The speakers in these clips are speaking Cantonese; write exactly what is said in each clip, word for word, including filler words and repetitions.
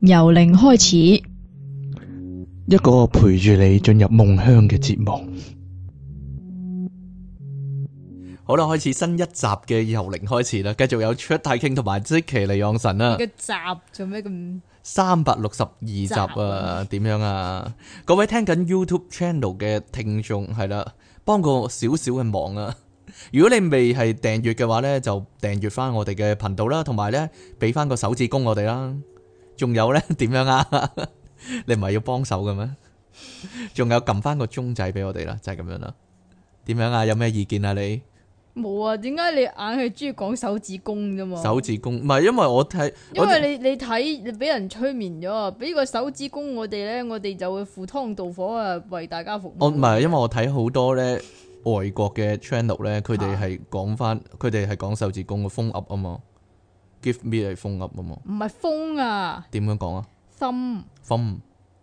由零開始， 一個陪住你進入夢鄉嘅節目。好啦，開始新一集嘅由零開始啦，繼續有出太傾同埋即其利昂神啦。 個集做咩咁？ 三百六十二集啊，點樣啊？各位聽緊 YouTube channel 嘅聽眾係啦，幫個少少嘅忙啊！如果你未係訂閱嘅話呢，就訂閱翻我哋嘅頻道啦，同埋呢俾翻個手指公我哋啦。仲有呢點樣啊？你唔係要幫手嘅咩？仲有撳翻個鐘仔俾我哋啦，就係、是、咁樣啦。點樣啊？有咩意見啊？你？ 冇啊？點解你硬係中意講手指公啫嘛？ 手指公唔係，因為我睇， 因為你你睇你俾人催眠咗啊！俾個手指公我哋咧，我哋就會赴湯蹈火啊，為大家服務。 我唔係，因為我睇好多咧外國嘅 channel 咧，佢哋係講翻，佢哋係講手指公嘅封噏啊嘛 ，give me 係封噏啊嘛。 唔係封啊？ 點樣講啊 ？thumb。 thumb。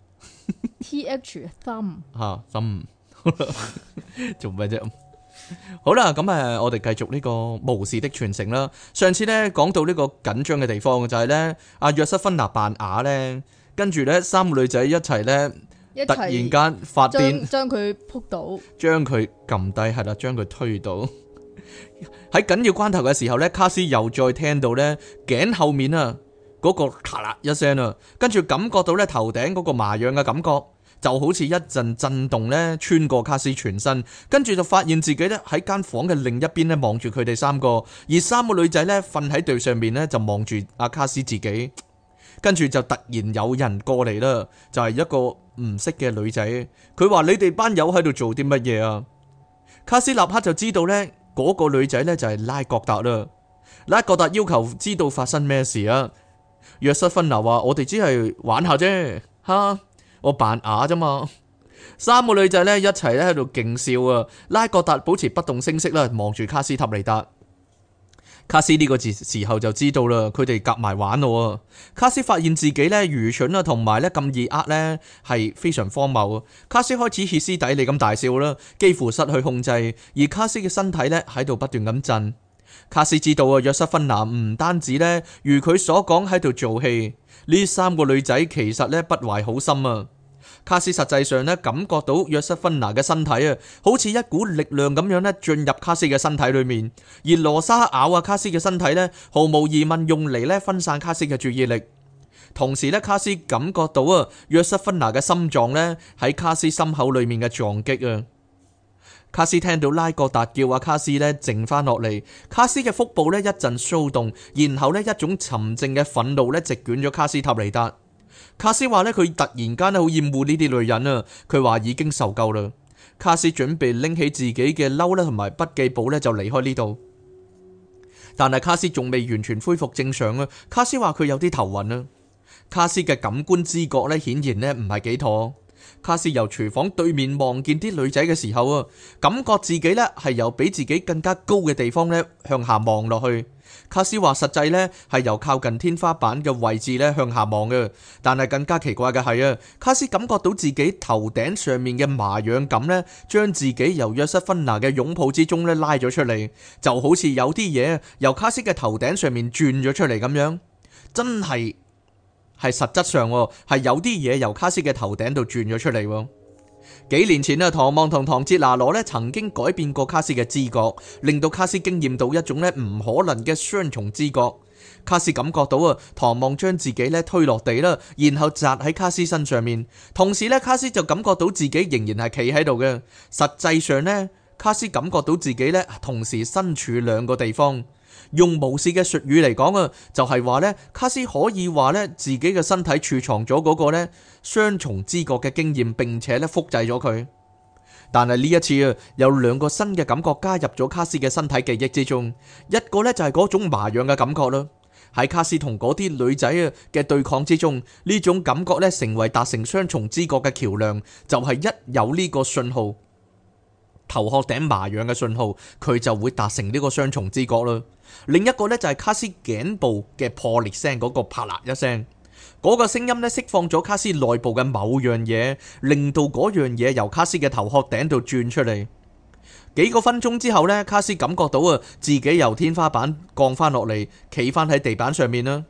T H thumb。 吓 thumb。做咩啫？好啦，咁誒，我哋繼續呢個巫士的傳承啦。上次咧講到呢個緊張嘅地方就係咧，阿約瑟芬娜扮啞咧，跟住咧三個女仔一齊咧，突然間發癲， 將佢撲倒， 將佢撳低，係啦，將佢推倒。喺緊要關頭嘅時候咧，卡斯又再聽到咧頸後面啊嗰個咔啦一聲啊，跟住感覺到咧頭頂嗰個麻癢嘅感覺。就好似一陣震動咧，穿過卡斯全身，跟住就發現自己咧喺間房嘅另一邊咧望住佢哋三個，而三個女仔咧瞓喺地上面咧就望住阿卡斯自己，跟住就突然有人過嚟啦，就係一個唔識嘅女仔，佢話：你哋班友喺度做啲乜嘢啊？卡斯立刻就知道咧嗰個女仔咧就係拉各達啦，拉各達要求知道發生咩事啊。約瑟芬娜話：我哋只係玩下啫，哈。我扮啞啫嘛，三個女仔咧一齊咧喺度勁笑啊！拉各達保持不動聲色啦，望住卡斯塔尼達。卡斯呢個時時候就知道啦，佢哋夾埋玩咯。卡斯發現自己咧愚蠢啊，同埋咧咁易呃咧係非常荒謬。卡斯開始歇斯底里咁大笑啦，幾乎失去控制，而卡斯嘅身體咧喺度不斷咁震。卡斯知道啊，約瑟芬娜唔單止咧如佢所講喺度做戲。呢三個女仔其實咧不懷好心啊！卡斯實際上咧感覺到約瑟芬娜嘅身體啊，好似一股力量咁樣咧進入卡斯嘅身體裏面，而羅莎咬啊卡斯嘅身體咧，毫無疑問用嚟咧分散卡斯嘅注意力。同時咧，卡斯感覺到啊約瑟芬娜嘅心臟咧喺卡斯心口裏面嘅撞擊啊！卡斯聽到拉各達叫阿卡斯咧靜翻落嚟，卡斯嘅腹部咧一陣騷動，然後咧一種沉靜嘅憤怒咧席捲咗卡斯塔尼達。卡斯話咧佢突然間咧好厭惡呢啲女人啊，佢話已經受夠啦。卡斯準備拎起自己嘅褸咧同埋筆記簿咧就離開呢度，但係卡斯仲未完全恢復正常啊。卡斯話佢有啲頭暈啊。卡斯嘅感官知覺咧顯然咧唔係幾妥。卡斯由廚房對面望見啲女仔嘅時候啊，感覺自己咧係由比自己更加高嘅地方咧向下望落去。卡斯話實際咧係由靠近天花板嘅位置咧向下望嘅，但係更加奇怪嘅係啊，卡斯感覺到自己頭頂上面嘅麻癢感咧，將自己由約瑟芬娜嘅擁抱之中咧拉咗出嚟，就好似有啲嘢由卡斯嘅頭頂上面轉咗出嚟咁樣，真係。係實質上係有啲嘢由卡斯嘅頭頂度轉咗出嚟。幾年前啊，唐望同唐哲拿羅咧曾經改變過卡斯嘅知覺，令到卡斯經驗到一種咧唔可能嘅雙重知覺。卡斯感覺到啊，唐望將自己咧推落地啦，然後砸喺卡斯身上面，同時咧卡斯就感覺到自己仍然係企喺度嘅。實際上呢，卡斯感覺到自己咧同時身處兩個地方。用巫士嘅術語嚟講啊，就係話咧，卡斯可以話咧自己嘅身體儲藏咗嗰個咧雙重知覺嘅經驗，並且咧複製咗佢。但係呢一次啊，有兩個新嘅感覺加入咗卡斯嘅身體記憶之中，一個咧就係嗰種麻癢嘅感覺啦。喺卡斯同嗰啲女仔啊嘅對抗之中，呢種感覺咧成為達成雙重知覺嘅橋樑，就係一有呢個信號，頭殼頂麻癢嘅信號，佢就會達成呢個雙重知覺啦。另一個呢，就係卡斯頸部嘅破裂聲，嗰個啪啦一聲，嗰個聲音呢釋放咗卡斯內部嘅某樣嘢，令到嗰樣嘢由卡斯嘅頭殼頂度轉出嚟。幾個分鐘之後呢，卡斯感覺到啊自己由天花板降翻落嚟，企翻喺地板上面啦。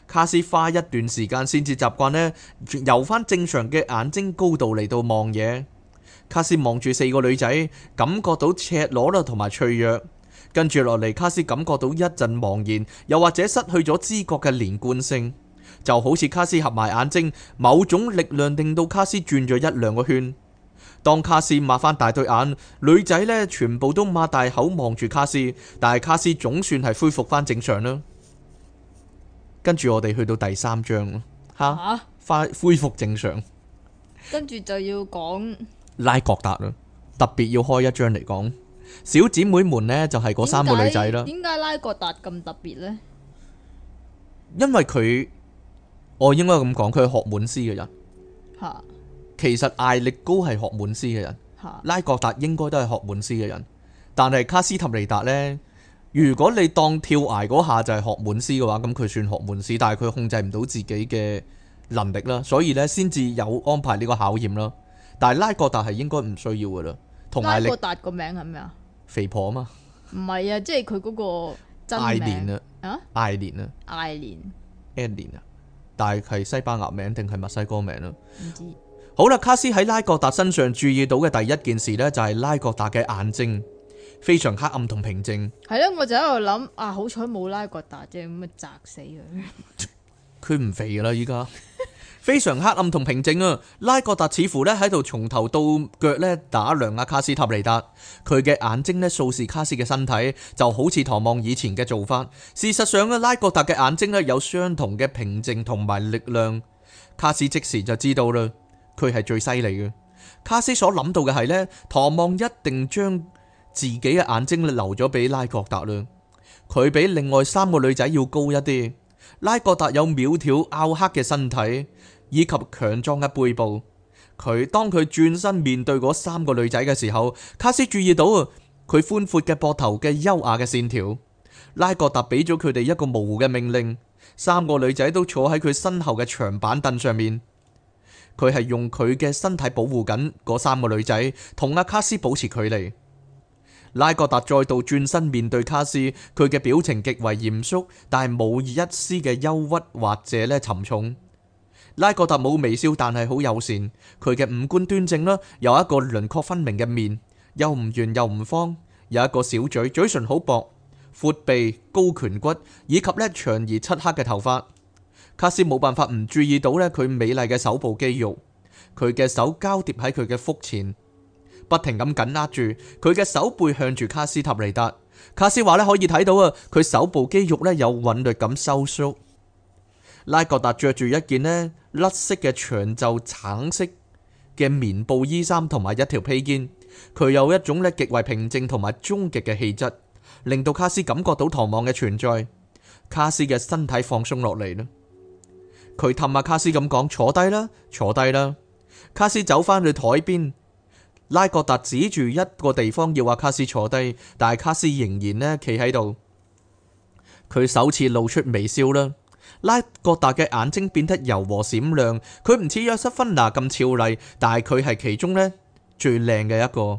卡斯花一段時間先至習慣呢，由翻正常嘅眼睛高度嚟到望嘢。卡斯望住四個女仔，感覺到赤裸啦同埋脆弱。跟住落嚟，卡斯感覺到一陣茫然，又或者失去咗知覺嘅連貫性，就好似卡斯合埋眼睛，某種力量令到卡斯轉咗一兩個圈。當卡斯擘翻大對眼，女仔呢全部都擘大口望住卡斯，但係卡斯總算係恢復翻正常啦。跟住我哋去到第三章吓，快恢復正常。 跟住就要講拉各達啦，特別要開一章嚟講。小姐妹們呢，就係嗰三個女仔啦。 點解拉各達咁特別呢？ 因為佢，我應該咁講，佢係學滿師嘅人。 吓， 其實艾力高係學滿師嘅人， 吓， 拉各達應該都係學滿師嘅人。但係卡斯塔尼達呢，如果你當跳崖嗰下就係學滿師嘅話，咁佢算學滿師，但係佢控制唔到自己嘅能力啦，所以呢，先至有安排呢個考驗啦。但係拉各達係應該唔需要噶啦。同艾力拉各達個名係咩啊？ 肥婆啊嘛， 唔係啊，即係佢嗰個真名。 艾蓮啊， 啊， 艾蓮啊， 艾蓮， 艾蓮啊，但係係西班牙名定係墨西哥名啊？ 唔知。 好啦，卡斯喺拉各達身上注意到嘅第一件事呢，就係拉各達嘅眼睛非常黑暗同平靜。 係咯，我就喺度諗啊，好彩冇拉各達啫，咁咪砸死佢。 佢唔肥噶啦，依家非常黑暗同平靜啊！拉各達似乎咧喺度從頭到腳咧打量阿卡斯塔尼達，佢嘅眼睛咧掃視卡斯嘅身體，就好似唐望以前嘅做法。事實上啊，拉各達嘅眼睛咧有相同嘅平靜同埋力量。卡斯即時就知道啦，佢係最犀利嘅。卡斯所諗到嘅係呢，唐望一定將自己嘅眼睛留咗俾拉各達啦。佢比另外三個女仔要高一啲。拉各達有苗條拗黑嘅身體，以及強壯嘅背部。佢當佢轉身面對嗰三個女仔嘅時候，卡斯注意到啊，佢寬闊嘅膊頭嘅優雅嘅線條。拉各達俾咗佢哋一個模糊嘅命令，三個女仔都坐喺佢身後嘅長板凳上面。佢係用佢嘅身體保護緊嗰三個女仔，同阿卡斯保持距離。拉各達再度轉身面對卡斯，佢嘅表情極為嚴肅，但係冇一絲嘅憂鬱或者咧沉重。拉各達冇微笑，但係好友善。佢嘅五官端正啦，有一個輪廓分明嘅面，又唔圓又唔方，有一個小嘴，嘴唇好薄，闊鼻、高顴骨，以及咧長而漆黑嘅頭髮。卡斯冇辦法唔注意到咧佢美麗嘅手部肌肉，佢嘅手交疊喺佢嘅腹前，不停咁緊握住佢嘅手背向住卡斯塔尼達。卡斯話咧可以睇到啊，佢手部肌肉咧有韻律咁收縮。拉各達着住一件呢甩色嘅長袖橙色嘅棉布衣衫同埋一條披肩，佢有一種咧極為平靜同埋終極嘅氣質，令到卡斯感覺到唐望嘅存在。卡斯嘅身體放鬆落嚟啦，佢氹下卡斯咁講：坐低啦，坐低啦。卡斯走返去台邊，拉各達指住一個地方要阿卡斯坐低，但係卡斯仍然呢企喺度。佢首次露出微笑啦。拉各達嘅眼睛變得柔和閃亮，佢唔似約瑟芬娜咁俏麗，但係佢係其中呢最靚嘅一個。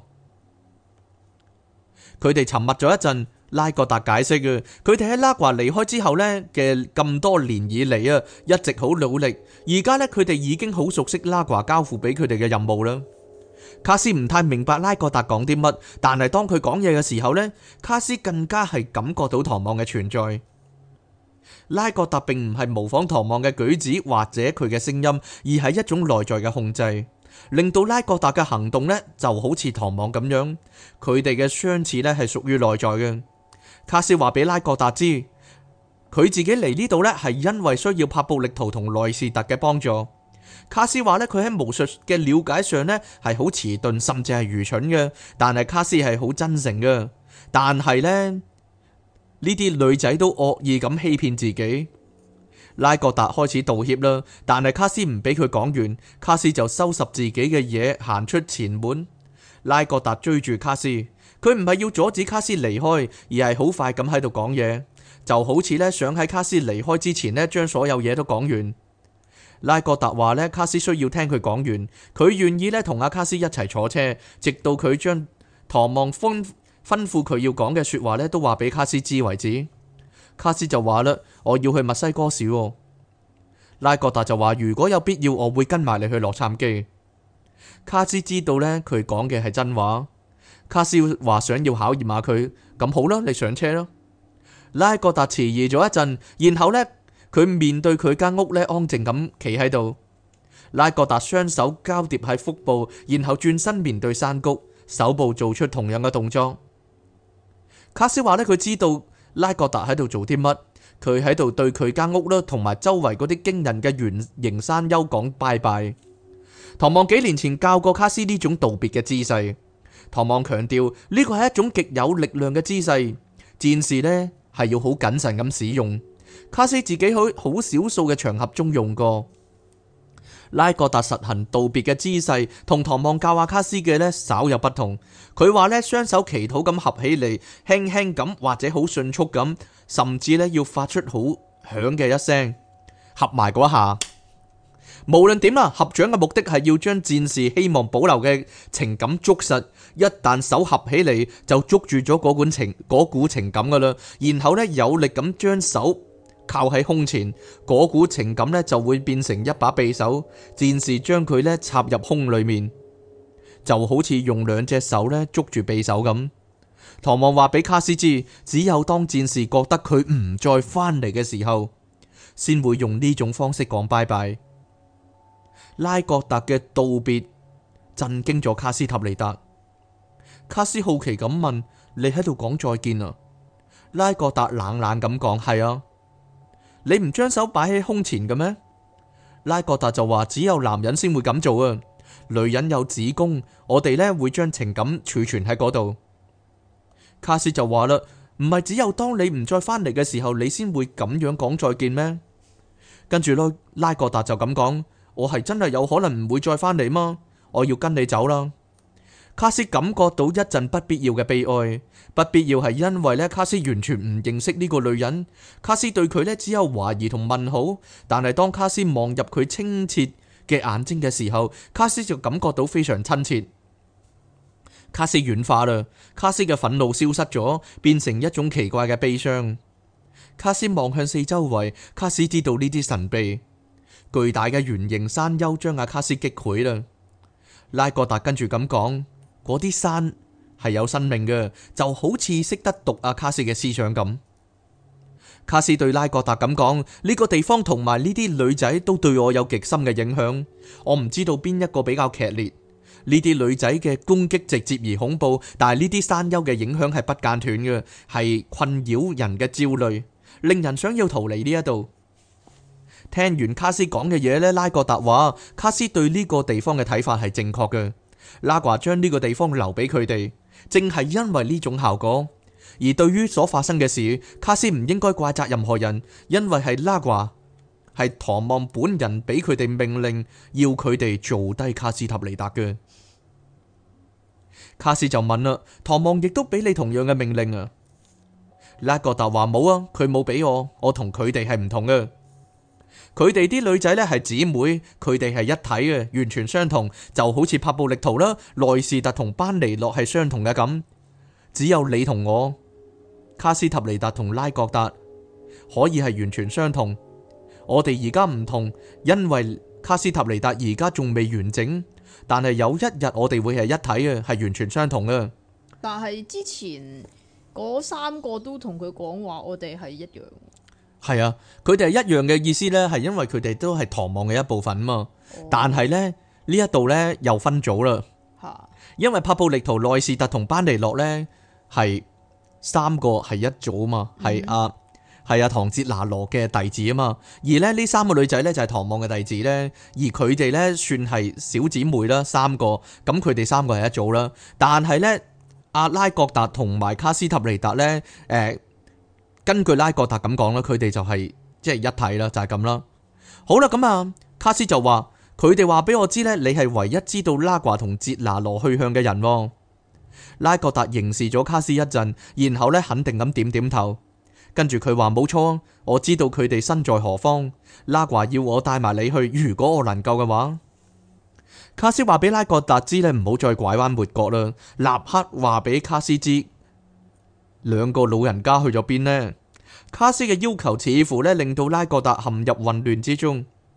佢哋沉默咗一陣，拉各達解釋嘅，佢哋喺拉華離開之後呢嘅咁多年以嚟啊，一直好努力，而家呢，佢哋已經好熟悉拉華交付俾佢哋嘅任務啦。卡斯唔太明白拉各達講啲乜，但係當佢講嘢嘅時候呢，卡斯更加係感覺到唐望嘅存在。拉各達並唔係模仿唐望嘅舉止或者佢嘅聲音，而係一種內在嘅控制，令到拉各達嘅行動呢就好似唐望咁樣。佢哋嘅相似呢係屬於內在嘅。卡斯話俾拉各達知，佢自己嚟呢度呢係因為需要帕布力圖同內士特嘅幫助。卡斯話呢，佢喺巫術嘅了解上呢係好遲鈍，甚至係愚蠢嘅，但係卡斯係好真誠嘅。但係呢。呢啲女仔都惡意咁欺騙自己。拉各達開始道歉啦，但係卡斯唔俾佢講完，卡斯就收拾自己嘅嘢行出前門。拉各達追住卡斯，佢唔係要阻止卡斯離開，而係好快咁喺度講嘢，就好似呢想喺卡斯離開之前呢將所有嘢都講完。拉各達話呢，卡斯需要聽佢講完，佢願意呢同阿卡斯一齊坐車，直到佢將唐望吩吩咐佢要講嘅說話咧，都話俾卡斯知為止。卡斯就話啦：我要去墨西哥市。 拉各達就話如果有必要，我會跟埋你去洛杉磯。卡斯知道呢，佢講嘅係真話。卡斯話想要考驗下佢，咁好啦，你上車啦。拉各達遲疑咗一陣，然後呢，佢面對佢間屋呢，安靜咁企喺度。拉各達雙手交疊喺腹部，然後轉身面對山谷，手部做出同樣嘅動作。卡斯話呢，佢知道拉各達喺度做啲乜，佢喺度對佢間屋啦，同埋周圍嗰啲驚人嘅圓形山丘講拜拜。唐望幾年前教過卡斯呢種道別嘅姿勢。唐望強調呢個係一種極有力量嘅姿勢，戰士呢係要好謹慎咁使用。卡斯自己喺好少數嘅場合中用過。拉各達實行道別嘅姿勢，同唐望教阿卡斯嘅呢稍有不同。佢話呢，雙手祈禱咁合起嚟，輕輕咁或者好迅速咁，甚至呢要發出好響嘅一聲，合埋嗰下。無論點啦，合掌嘅目的係要將戰士希望保留嘅情感捉實。一旦手合起嚟，就捉住咗嗰管情嗰股情感噶啦。然後呢，有力咁將手靠喺胸前，嗰股情感呢就會變成一把匕首。戰士將佢呢插入胸裏面，就好似用兩隻手呢捉住匕首咁。唐望話俾卡斯知，只有當戰士覺得佢唔再返嚟嘅時候，先會用呢種方式講拜拜。拉各達嘅道別震驚咗卡斯塔尼達。卡斯好奇咁問：你喺度講再見啊？拉各達冷冷咁講：係啊。你唔將手擺喺胸前嘅咩？拉各達就話：只有男人先會咁做啊，女人有子宮，我哋呢會將情感儲存喺嗰度。卡斯就話啦：唔係只有當你唔再返嚟嘅時候，你先會咁樣講再見咩？跟住咯，拉各達就咁講。我係真係有可能唔會再返嚟嗎？我要跟你走啦。卡斯感覺到一陣不必要嘅悲哀，不必要係因為呢，卡斯完全唔認識呢個女人，卡斯對佢呢只有懷疑同問號。但係當卡斯望入佢清澈嘅眼睛嘅時候，卡斯就感覺到非常親切。卡斯軟化啦，卡斯嘅憤怒消失咗，變成一種奇怪嘅悲傷。卡斯望向四周圍，卡斯知道呢啲神秘。巨大嘅圓形山丘將阿卡斯擊潰啦。拉各達跟住咁講：嗰啲山係有生命嘅，就好似識得讀阿卡斯嘅思想咁。卡斯對拉各達咁講：呢個地方同埋呢啲女仔都對我有極深嘅影響。我唔知道邊一個比較劇烈。呢啲女仔嘅攻擊直接而恐怖，但係呢啲山丘嘅影響係不間斷嘅，係困擾人嘅焦慮，令人想要逃離呢一度。聽完卡斯講嘅嘢呢，拉各達話卡斯對呢個地方嘅睇法係正確嘅。拉華將呢個地方留俾佢哋，正係因為呢種效果。而對於所發生嘅事，卡斯唔應該怪責任何人，因為係拉華係唐望本人俾佢哋命令，要佢哋做低卡斯塔尼達嘅。卡斯就問啦：唐望亦都俾你同樣嘅命令啊？拉各達話冇啊，佢冇俾我，我同佢哋係唔同嘅。佢哋啲女仔呢係姊妹，佢哋係一體嘅，完全相同，就好似帕布力圖啦、內士特同班尼諾係相同嘅咁。只有你同我，卡斯塔尼達同拉各達可以係完全相同。我哋而家唔同，因為卡斯塔尼達而家仲未完整，但係有一日我哋會係一體嘅，係完全相同嘅。 但係之前嗰三個都同佢講話，我哋係一樣。 係啊，佢哋係一樣嘅意思呢，係因為佢哋都係唐望嘅一部分嘛。哦、但係呢，呢一度呢又分組啦。哈因為帕布力圖、內士特同班尼諾呢係三個係一組嘛，係阿係阿唐哲拿羅嘅弟子啊嘛。而咧呢三個女仔呢就係唐望嘅弟子呢，而佢哋呢算係小姊妹啦，三個咁佢哋三個係一組啦。但係呢，阿拉各達同埋卡斯塔尼達呢。誒、呃。根據拉各達咁講啦，佢哋就係即係一體啦，就係咁啦。好啦，咁啊，卡斯就話佢哋話俾我知呢，你係唯一知道拉華同哲拿羅去向嘅人。拉各達凝視咗卡斯一陣，然後呢肯定咁點點頭，跟住佢話冇錯，我知道佢哋身在何方。拉華要我帶埋你去，如果我能夠嘅話。卡斯話俾拉各達知呢，唔好再拐彎抹角啦，立刻話俾卡斯知。兩個老人家去咗邊呢？卡斯嘅要求似乎咧令到拉各達陷入混亂之中。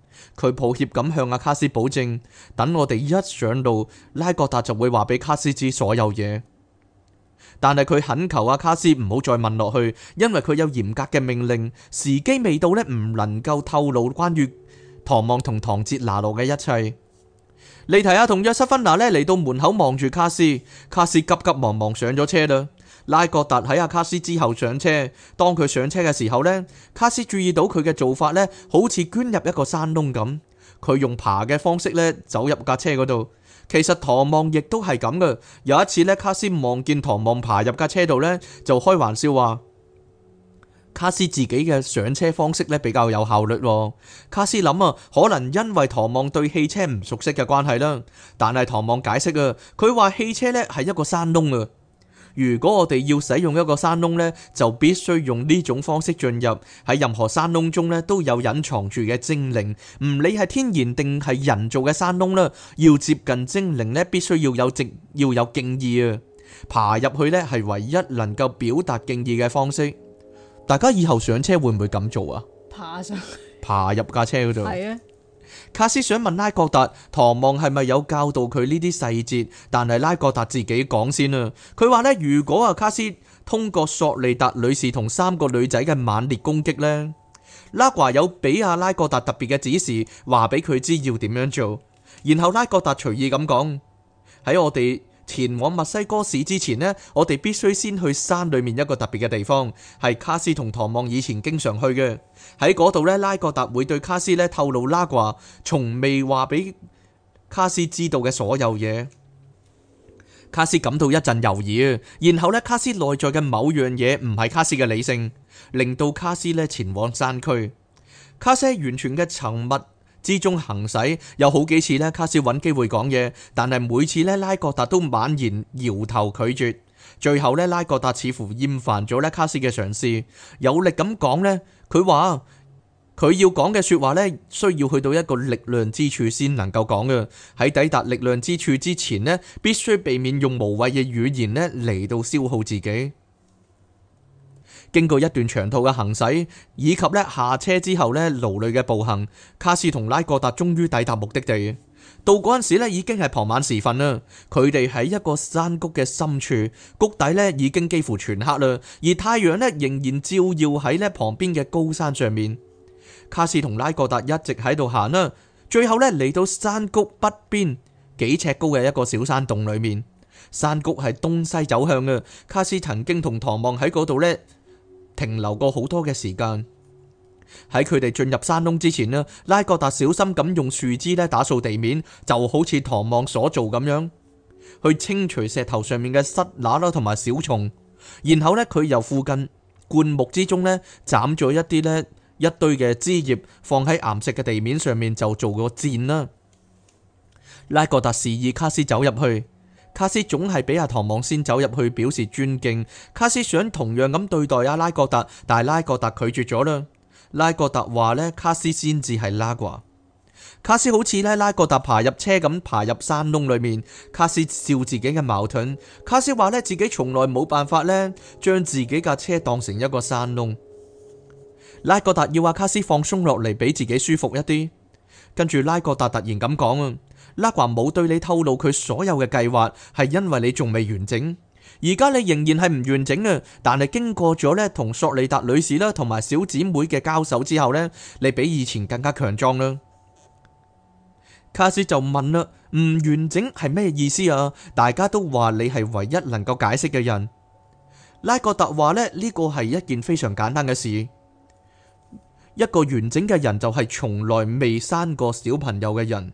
佢抱歉咁向阿卡斯保證，等我哋一上路，拉各達就會話俾卡斯知所有嘢。但係佢懇求阿卡斯唔好再問落去，因為佢有嚴格嘅命令，時機未到呢，唔能夠透露關於唐望同唐哲拿羅嘅一切。利提亞同約瑟芬娜呢嚟到門口望住卡斯，卡斯急急忙忙上咗車啦。拉各達喺阿卡斯之後上車，當佢上車嘅時候呢，卡斯注意到佢嘅做法呢，好似鑽入一個山窿咁。佢用爬嘅方式呢走入架車嗰度。其實唐望亦都係咁嘅。有一次呢，卡斯望見唐望爬入架車度呢，就開玩笑話卡斯自己嘅上車方式呢比較有效率。卡斯諗啊，可能因為唐望對汽車唔熟悉嘅關係啦。但係唐望解釋啊，佢話汽車呢係一個山窿啊。如果我哋要使用一個山窿呢，就必須用呢種方式進入。喺任何山窿中呢，都有隱藏住嘅精靈，唔理係天然定係人造嘅山窿啦。要接近精靈呢，必須要有敬要有敬意啊。爬入去呢，係唯一能夠表達敬意嘅方式。大家以後上車會唔會咁做啊？ 爬上去， 爬入架車嗰度。 係啊。 卡斯想問拉各達，唐望係咪有教導佢呢啲細節？但係拉各達自己講先啊。佢話呢，如果啊卡斯通過索利達女士同三個女仔嘅猛烈攻擊呢，拉華有俾阿拉各達特別嘅指示，話俾佢知要點樣做。然後拉各達隨意咁講，喺我哋前往墨西哥市之前呢，我哋必須先去山裏面一個特別嘅地方，係卡斯同唐望以前經常去嘅。喺嗰度呢，拉各達會對卡斯呢透露拉華從未話俾卡斯知道嘅所有嘢。卡斯感到一陣猶豫啊，然後呢，卡斯內在嘅某樣嘢唔係卡斯嘅理性，令到卡斯呢前往山區。卡斯喺完全嘅沉默之中行駛，有好幾次呢，卡斯揾機會講嘢，但係每次呢，拉各達都猛然搖頭拒絕。最後呢，拉各達似乎厭煩咗呢卡斯嘅嘗試，有力咁講呢，佢話佢要講嘅說話呢，需要去到一個力量之處先能夠講嘅。喺抵達力量之處之前呢，必須避免用無謂嘅語言呢嚟到消耗自己。經過一段長途嘅行駛，以及咧下車之後咧勞累嘅步行，卡斯同拉各達終於抵達目的地。到嗰陣時咧已經係傍晚時分啦。佢哋喺一個山谷嘅深處，谷底咧已經幾乎全黑啦，而太陽咧仍然照耀喺咧旁邊嘅高山上面。卡斯同拉各達一直喺度行啦，最後咧嚟到山谷北邊幾尺高嘅一個小山洞裏面。山谷係東西走向嘅，卡斯曾經同唐望喺嗰度咧停留過好多嘅時間。喺佢哋進入山窿之前呢，拉各達小心咁用樹枝咧打掃地面，就好似唐望所做咁樣，去清除石頭上面嘅虱乸啦同埋小蟲。然後呢，佢由附近灌木之中呢斬咗一啲呢一堆嘅枝葉，放喺岩石嘅地面上面，就做個墊啦。拉各達示意卡斯走入去。卡斯總係俾阿唐望先走入去表示尊敬。卡斯想同樣咁對待阿拉各達，但係拉各達拒絕咗啦。拉各達話呢，卡斯先至係拉掛。卡斯好似呢拉各達爬入車咁爬入山窿裏面。卡斯笑自己嘅矛盾。卡斯話呢，自己從來冇辦法呢將自己架車當成一個山窿。拉各達要阿卡斯放鬆落嚟，俾自己舒服一啲。跟住拉各達突然咁講啊，拉華冇對你透露佢所有嘅計劃，係因為你仲未完整。而家你仍然係唔完整啊，但係經過咗呢同索利達女士啦同埋小姊妹嘅交手之後呢，你比以前更加強壯啦。卡斯就問啦，唔完整係咩意思啊？大家都話你係唯一能夠解釋嘅人。拉各達話呢，呢個係一件非常簡單嘅事。一個完整嘅人就係從來未生過小朋友嘅人。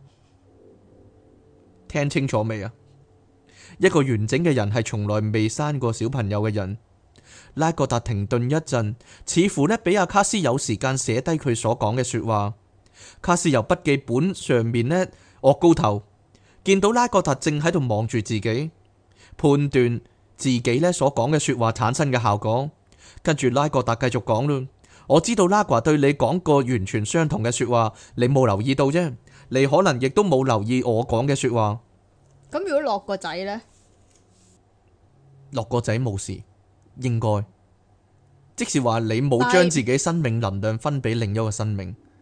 聽清楚未啊？一個完整嘅人係從來未生過小朋友嘅人。拉各達停頓一陣，似乎呢俾阿卡斯有時間寫低佢所講嘅說話。卡斯由筆記本上面呢岳高頭，見到拉各達正喺度望住自己，判斷自己呢所講嘅說話產生嘅效果。跟住拉各達繼續講啦，我知道拉華對你講過完全相同嘅說話，你冇留意到啫。你可能亦都冇留意我講嘅說話。 咁如果落個仔呢？ 落個仔冇事，應該即是話你冇將自己生命能量分俾另一個生命。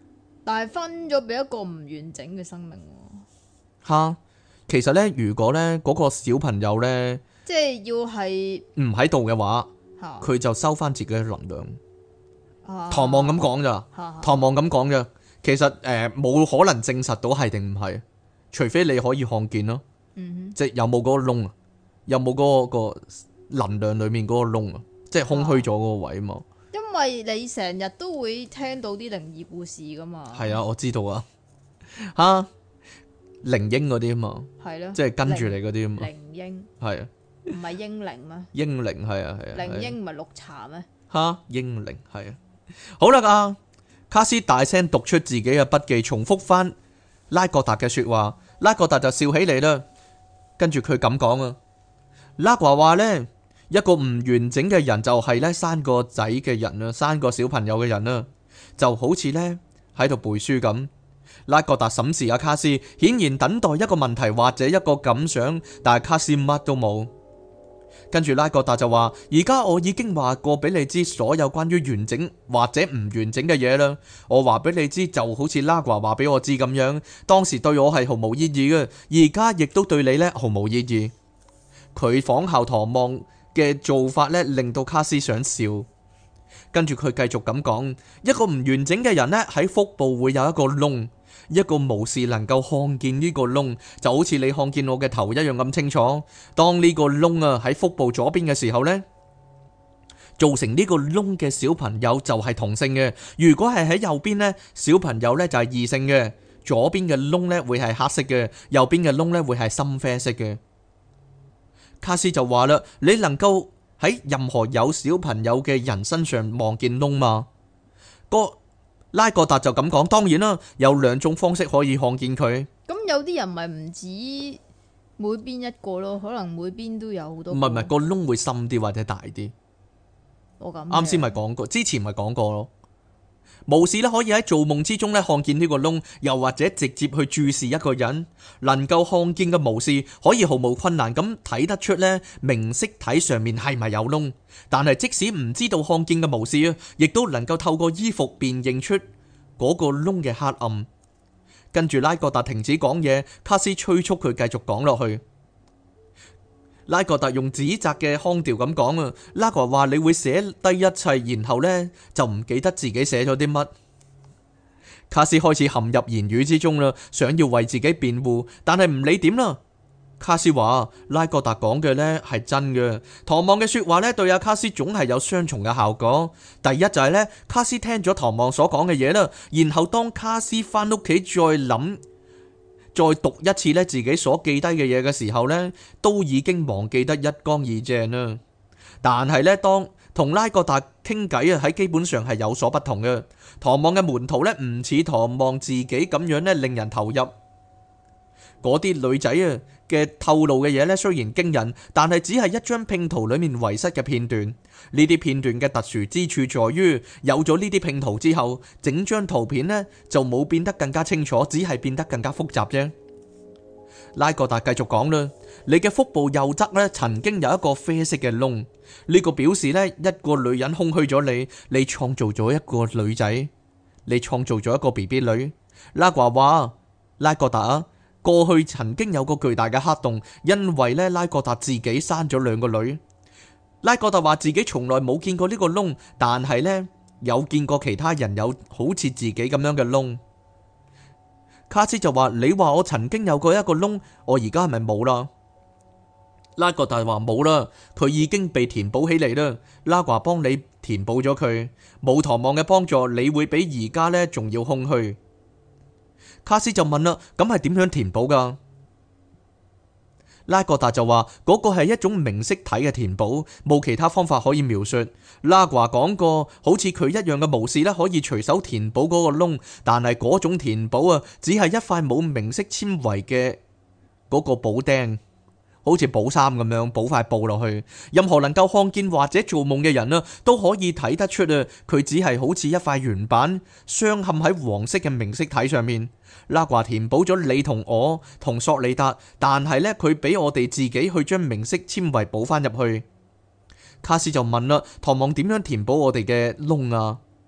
但係分咗俾一個唔完整嘅生命喎。 吓，其實呢，如果呢嗰個小朋友呢即係要係唔喺度嘅話， 嚇佢就收翻自己嘅能量。 啊唐望咁講咋？ 嚇唐望咁講嘅，其實誒冇、可能證實到係定唔係，除非你可以看見咯， 嗯即係有冇嗰個窿啊，有冇嗰、個能量裡面嗰個窿啊，即係空虛咗嗰個位啊嘛。 哼，因為你成日都會聽到啲靈異故事噶嘛。 係啊，我知道啊，吓靈嬰嗰啲啊嘛， 係咯， 即係跟住你嗰啲啊嘛， 靈嬰係啊， 唔係英靈咩？ 嬰靈係啊係啊， 靈係啊嬰唔係綠茶咩？ 吓嬰靈係啊。好啦，啊卡斯大聲讀出自己嘅筆記，重複翻拉各達嘅說話。拉各達就笑起嚟啦，跟住佢咁講啊。拉華話呢，一個唔完整嘅人就係呢生個仔嘅人啊，生個小朋友嘅人啊，就好似呢喺度背書咁。拉各達審視阿卡斯，顯然等待一個問題或者一個感想，但係卡斯乜都冇。跟住拉各達就話：而家我已經話過俾你知所有關於完整或者唔完整嘅嘢啦。我話俾你知就好似拉華話俾我知咁樣，當時對我係毫無意義嘅，而家亦都對你呢毫無意義。佢仿效唐望嘅做法呢，令到卡斯想笑。跟住佢繼續咁講：一個唔完整嘅人呢，喺腹部會有一個窿。一個巫士能夠看見呢個窿，就好似你看見我嘅頭一樣咁清楚。當呢個窿啊喺腹部左邊嘅時候呢，造成呢個窿嘅小朋友就係同性嘅；如果係喺右邊呢，小朋友呢就係異性嘅。左邊嘅窿呢會係黑色嘅，右邊嘅窿呢會係深啡色嘅。卡斯就話啦：你能夠喺任何有小朋友嘅人身上望見窿嗎？個拉各達就咁講，當然啦，有兩種方式可以看見佢。 咁有啲人咪唔止每邊一個咯，可能每邊都有好多個。 唔係唔係，個窿會深啲或者大啲。 我咁啱先咪講過，之前咪講過咯。巫士咧可以喺做夢之中咧看見呢個窿，又或者直接去注視一個人。能夠看見嘅巫士可以毫無困難咁睇得出咧明色體上面係咪有窿。但係即使唔知道看見嘅巫士啊，亦都能夠透過衣服辨認出嗰個窿嘅黑暗。跟住拉各達停止講嘢，卡斯催促佢繼續講落去。拉各達用指責嘅腔調咁講啊，拉格話你會寫低一切，然後呢就唔記得自己寫咗啲乜。卡斯開始陷入言語之中啦，想要為自己辯護，但係唔理點啦。卡斯話拉各達講嘅呢係真嘅，唐望嘅說話呢對阿卡斯總係有雙重嘅效果。第一就係呢，卡斯聽咗唐望所講嘅嘢啦，然後當卡斯翻屋企再諗。再讀一次咧自己所記低嘅嘢嘅時候呢，都已經忘記得一乾二淨啦。但係呢，當同拉各達傾偈啊，喺基本上係有所不同嘅。唐望嘅門徒呢，唔似唐望自己咁樣呢，令人投入。嗰啲女仔啊嘅透露嘅嘢呢，雖然驚人，但係只係一張拼圖裏面遺失嘅片段。呢啲片段嘅特殊之處在於，有咗呢啲拼圖之後，整張圖片呢就冇變得更加清楚，只係變得更加複雜啫。拉各達繼續講啦，你嘅腹部右側呢曾經有一個啡色嘅窿，呢個表示呢一個女人空虛咗你，你創造咗一個女仔，你創造咗一個 B B 女。拉華話，拉各達啊，過去曾經有個巨大嘅黑洞，因為呢拉各達自己生咗兩個女。拉各達話自己從來冇見過呢個窿，但係呢有見過其他人有好似自己咁樣嘅窿。卡斯就話，你話我曾經有過一個窿，我而家係咪冇啦？拉各達話冇啦，佢已經被填補起嚟啦。拉華幫你填補咗佢，冇唐望嘅幫助，你會比而家呢仲要空虛。卡斯就問啦，咁係點樣填補噶？拉各達就話嗰個係一種明色體嘅填補，冇其他方法可以描述。拉華講過，好似佢一樣嘅巫士咧，可以隨手填補嗰個窿，但係嗰種填補啊，只係一塊冇明色纖維嘅嗰個補釘，好似補衫咁樣補塊布落去。任何能夠看見或者做夢嘅人啊，都可以睇得出啊，佢只係好似一塊原板，鑲嵌喺黃色嘅明色體上面。拉華填補咗你同我同索利達，但係呢，佢俾我哋自己去將明色纖維補翻入去。卡斯就問啦，唐望點樣填補我哋嘅窿啊？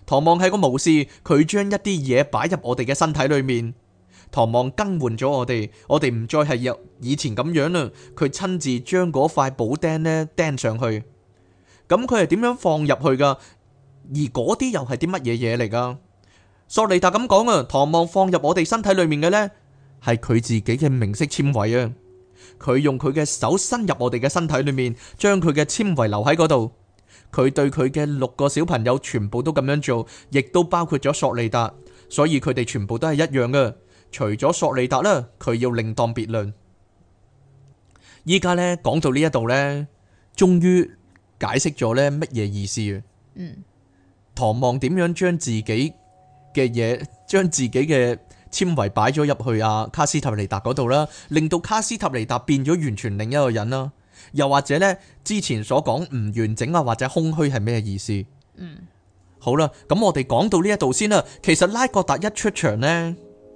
唐望係個巫師，佢將一啲嘢擺入我哋嘅身體裏面。唐望更換咗我哋，我哋唔再係有以前咁樣啦。佢親自將嗰塊補釘呢釘上去。咁佢係點樣放入去噶？而嗰啲又係啲乜嘢嘢嚟噶？索利達咁講啊，唐望放入我哋身體裏面嘅呢，係佢自己嘅明色纖維啊。佢用佢嘅手伸入我哋嘅身體裏面，將佢嘅纖維留喺嗰度。佢對佢嘅六個小朋友全部都咁樣做，亦都包括咗索利達，所以佢哋全部都係一樣嘅。除咗索利達啦，佢要另當別論。依家呢，講到呢一度呢，終於解釋咗呢乜嘢意思啊？嗯，唐望點樣將自己嘅嘢，將自己嘅纖維擺咗入去阿卡斯塔尼達嗰度啦，令到卡斯塔尼達變咗完全另一個人啦。又或者呢，之前所講唔完整啊，或者空虛係咩意思？嗯，好啦，咁我哋講到呢一度先啦。其實拉各達一出場呢，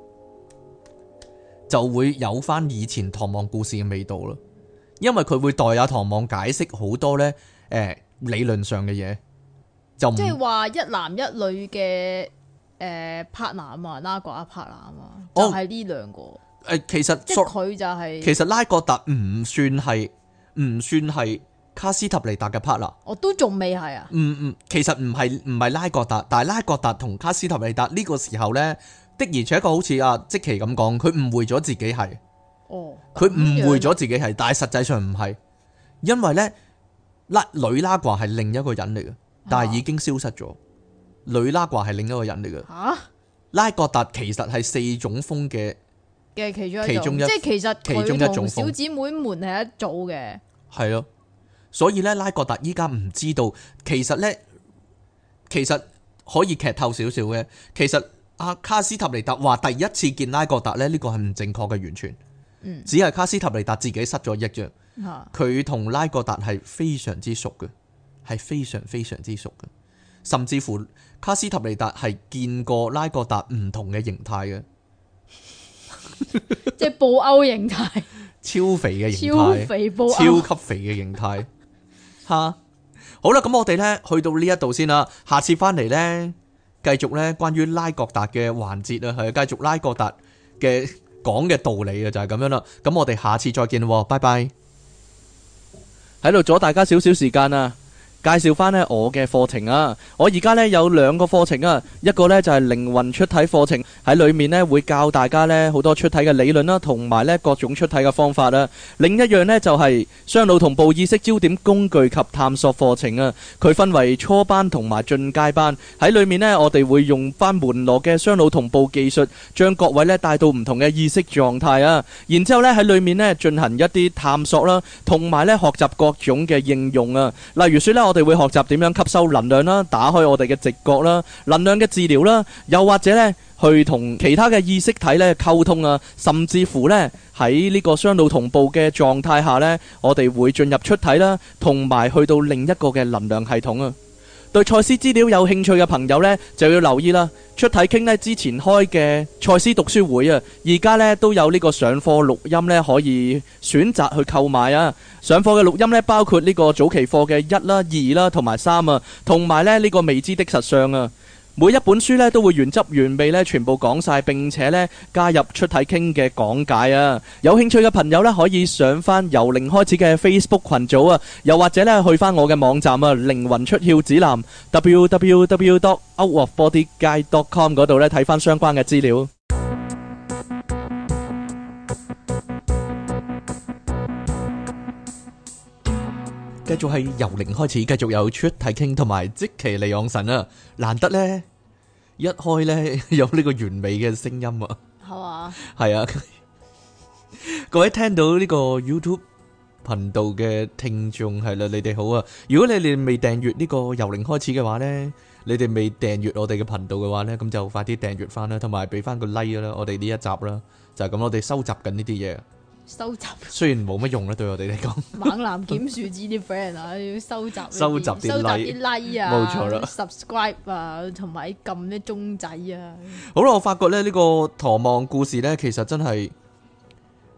就會有翻以前唐望故事嘅味道啦，因為佢會代阿唐望解釋好多呢誒、呃、理論上嘅嘢，就即係話一男一女嘅誒 partner 啊嘛，拉各一 partner 啊嘛，就係呢兩個。誒、 呃，其實即係佢就係、是、 其實拉各達唔算係唔算係卡斯塔尼達嘅 partner， 我都仲未係啊。 嗯嗯，其實唔係唔係拉各達，但係拉各達同卡斯塔尼達呢個時候呢。的而且確好似阿即奇咁講，佢誤會咗自己係，哦，佢誤會咗自己係，但係實際上唔係，因為呢，拉女拉掛係另一個人嚟嘅，但係已經消失咗。啊、女拉掛係另一個人嚟嘅。吓、啊，拉各達其實係四種風嘅嘅其中一種，其中一即係其實佢同小姊妹們係一組嘅。係咯， 所以呢，拉各達依家唔知道，其實呢，其實可以劇透少少嘅，其實。阿卡斯塔尼達話第一次見拉各達咧，呢個係唔正確嘅，完全，嗯、只係卡斯塔尼達自己失咗憶啫。佢同、啊、拉各達係非常之熟嘅，係非常非常之熟嘅，甚至乎卡斯塔尼達係見過拉各達唔同嘅形態嘅， 即係布歐形態， 超肥嘅形態， 超肥布歐， 超級肥嘅形態。吓，好啦，咁我哋呢去到呢一度先啦，下次翻嚟呢。繼續咧，關於拉各達嘅環節啊，係繼續拉各達嘅講嘅道理啊，就係咁樣啦。咁我哋下次再見咯，拜拜。喺度阻大家少少時間啊！介紹翻呢我嘅課程啊！我而家呢有兩個課程啊，一個呢就係靈魂出體課程，喺裏面呢會教大家呢好多出體嘅理論啦，同埋呢各種出體嘅方法啊。另一樣呢就係雙腦同步意識焦點工具及探索課程啊。佢分為初班同埋進階班，喺裏面呢我哋會用翻門羅嘅雙腦同步技術，將各位呢帶到唔同嘅意識狀態啊。然之後呢喺裏面呢進行一啲探索啦，同埋呢學習各種嘅應用啊。例如說呢。我哋會學習點樣吸收能量啦，打開我哋嘅直覺啦，能量嘅治療啦，又或者呢去同其他嘅意識體呢溝通啊，甚至乎呢喺呢個雙腦同步嘅狀態下呢，我哋會進入出體啦，同埋去到另一個嘅能量系統啊。對賽斯資料有興趣嘅朋友呢，就要留意啦。出體傾呢之前開嘅賽斯讀書會啊，而家呢都有呢個上課錄音呢，可以選擇去購買啊。上課嘅錄音呢，包括呢個早期課嘅一啦、二啦同埋三啊，同埋呢呢個未知的實相啊。每一本書呢都會原汁原味呢全部講晒，並且呢加入出體傾嘅講解啊！有興趣嘅朋友呢可以上翻由零開始嘅 Facebook 群組啊，又或者呢去翻我嘅網站啊，靈魂出竅指南 double-u double-u double-u dot out of body guide dot com 嗰度呢睇翻相關嘅資料。繼續係由零開始，繼續有出體傾同埋即其利昂神啊！難得呢，一開呢有呢個完美嘅聲音啊，係嘛？係啊！各位聽到呢個 YouTube 頻道嘅聽眾係啦，你哋好啊！如果你哋未訂閱呢個由零開始嘅話呢，你哋未訂閱我哋嘅頻道嘅話呢，咁就快啲訂閱翻啦，同埋俾翻個 like 啦！我哋呢一集啦，就係咁，我哋收集緊呢啲嘢。收集雖然冇乜用啦，對我哋嚟講。猛男檢樹枝啲 friend 啊，要收集收集啲 like, like 啊，冇錯啦 ，subscribe 啊，同埋撳啲鐘仔啊。好啦，我發覺咧呢個唐望故事咧，其實真係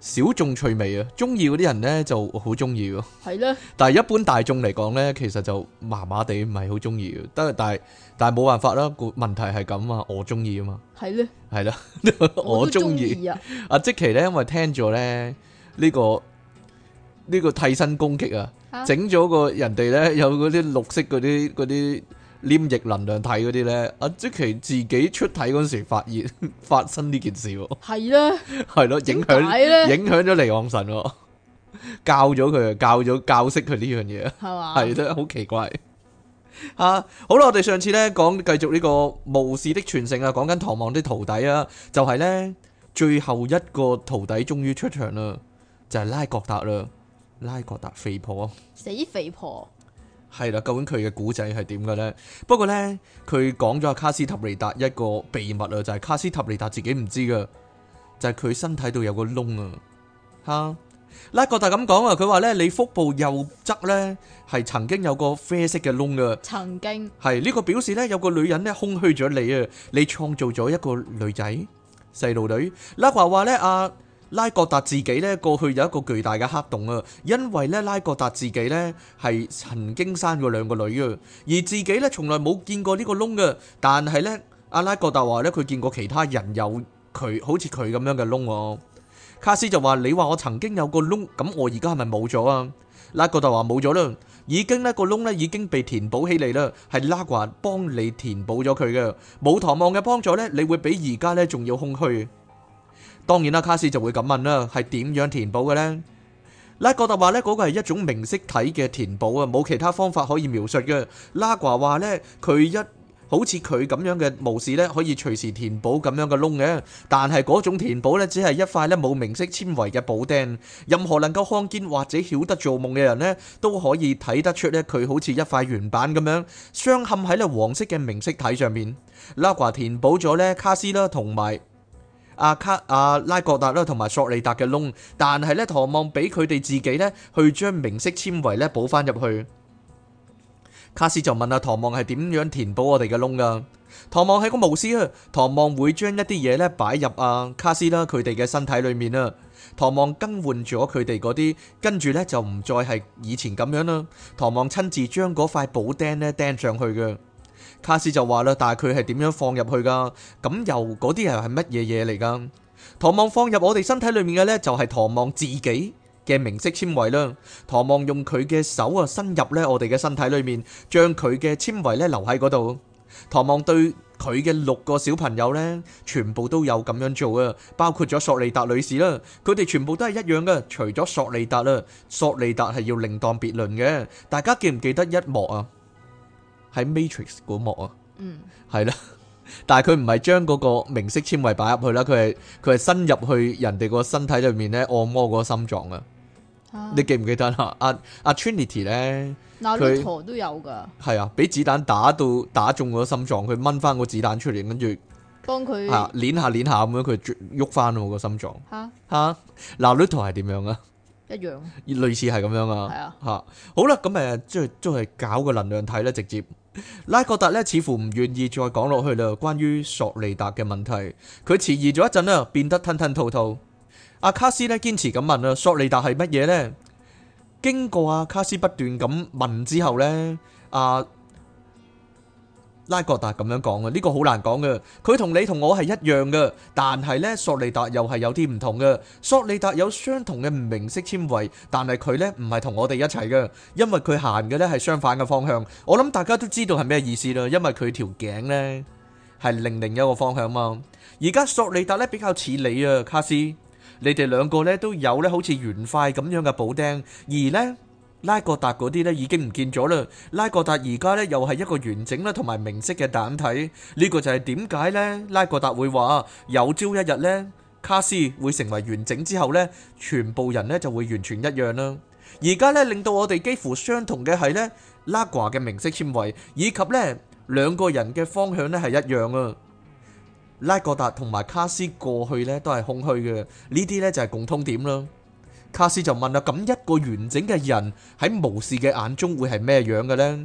小眾趣味啊，中意嗰啲人咧就好中意喎。 係咧， 但係一般大眾嚟講咧，其實就麻麻地，唔係好中意嘅。得但係但係冇辦法啦，個問題係咁啊，我中意啊嘛。 係咧， 係啦， 我我都中中意。 意啊！ 阿即奇咧，因為聽咗咧呢個呢個替身攻擊啊， 啊整咗個人哋咧有嗰啲綠色嗰啲嗰啲黏液能量體嗰啲咧，阿即奇自己出體嗰陣時發現發生呢件事喎， 係咧， 係咯，影點解響咧？ 影響咗離岸神喎，教咗佢，教咗教識佢呢樣嘢， 係嘛？ 係咧，好奇怪。啊，好啦，我哋上次咧講繼續呢個巫士的傳承啊，講緊唐望啲徒弟啊，就係咧最後一個徒弟終於出場啦，就係拉各達啦，拉各達肥婆死肥婆， 係啦，究竟佢嘅古仔係點嘅咧？不過咧，佢講咗阿卡斯塔尼達一個秘密啊，就係卡斯塔尼達自己唔知噶，就係佢身體度有個窿啊，吓。拉各達咁講啊，佢話咧你腹部右側咧係曾經有個啡色嘅窿噶， 曾經係呢個表示咧有個女人咧空虛咗你啊，你創造咗一個女仔細路女。拉華話咧阿拉各達自己咧過去有一個巨大嘅黑洞啊，因為咧拉各達自己咧係曾經生過兩個女啊，而自己咧從來冇見過呢個窿噶，但係咧阿拉各達話咧佢見過其他人有佢好似佢咁樣嘅窿喎。卡斯就話：你話我曾經有個窿，咁我而家係咪冇咗啊？拉各達話冇咗啦，已經呢個窿呢已經被填補起嚟啦，係拉華幫你填補咗佢嘅。冇唐望嘅幫助呢，你會比而家呢仲要空虛。當然啦，卡斯就會咁問啦，係點樣填補嘅呢？拉各達話呢嗰個係一種明色體嘅填補啊，冇其他方法可以描述嘅。拉華話呢，佢一好似佢咁樣嘅巫士咧，可以隨時填補咁樣嘅窿嘅，但係嗰種填補咧，只係一塊咧冇明色纖維嘅補釘。任何能夠看見或者曉得做夢嘅人咧，都可以睇得出咧，佢好似一塊圓板咁樣，鑲嵌喺咧黃色嘅明色體上面。拉華填補咗咧卡斯啦，同埋阿卡阿拉各達啦，同埋索利達嘅窿，但係咧唐望俾佢哋自己咧去將明色纖維咧補翻入去。卡斯就問阿唐望係點樣填補我哋嘅窿噶？唐望係個巫師啊，唐望會將一啲嘢咧擺入阿卡斯啦佢哋嘅身體裏面啊。唐望更換咗佢哋嗰啲，跟住咧就唔再係以前咁樣啦。唐望親自將嗰塊補釘咧釘上去嘅。卡斯就話啦，但係佢係點樣放入去噶？咁又嗰啲又係乜嘢嘢嚟噶？唐望放入我哋身體裏面嘅咧，就係唐望自己嘅明色纖維啦。唐望用佢嘅手啊伸入咧我哋嘅身體裏面，將佢嘅纖維咧留喺嗰度。唐望對佢嘅六個小朋友咧，全部都有咁樣做啊，包括咗索利達女士啦，佢哋全部都係一樣嘅，除咗索利達啦，索利達係要另當別論嘅。大家記唔記得一幕啊？喺 Matrix 嗰幕啊，嗯，係啦。但係佢唔係將嗰個明色纖維擺入去啦，佢係佢係伸入去人哋個身體裏面咧，按摩嗰個心臟啊。你記唔記得啊？阿阿 Trinity 咧， 佢都有噶。 係啊，俾子彈打到打中個心臟，佢掹翻個子彈出嚟，跟住幫佢吓捻下捻下咁樣，佢喐翻個心臟。吓吓，嗱呢圖係點樣啊？ 一樣， 類似係咁樣啊。 係啊。 吓好啦，咁誒，即係都係搞個能量體咧，直接。拉各達咧似乎唔願意再講落去啦，關於索利達嘅問題，佢遲疑咗一陣啦，變得吞吞吐吐。阿卡斯咧堅持咁問啊，索利達係乜嘢呢？經過阿卡斯不斷咁問之後呢，阿拉各達咁樣講啊，呢個好難講嘅。佢同你同我係一樣嘅，但係呢，索利達又係有啲唔同嘅。索利達有相同嘅明色纖維，但係佢呢唔係同我哋一齊嘅，因為佢行嘅呢係相反嘅方向。我諗大家都知道係咩意思啦，因為佢條頸呢係另另一個方向嘛。而家索利達呢比較似你啊，卡斯。你哋兩個咧都有咧好似圓塊咁樣嘅補釘，而呢拉各達嗰啲咧已經唔見咗啦。拉各達而家咧又係一個完整啦同埋明晰嘅蛋體，呢個就係點解咧拉各達會話有朝一日咧卡斯會成為完整之後咧，全部人咧就會完全一樣啦。而家咧令到我哋幾乎相同嘅係咧拉掛嘅明色纖維，以及咧兩個人嘅方向咧係一樣啊。拉各達同埋卡斯過去咧都係空虛嘅，呢啲咧就係共通點啦。卡斯就問啦，咁一個完整嘅人喺巫士嘅眼中會係咩樣嘅呢？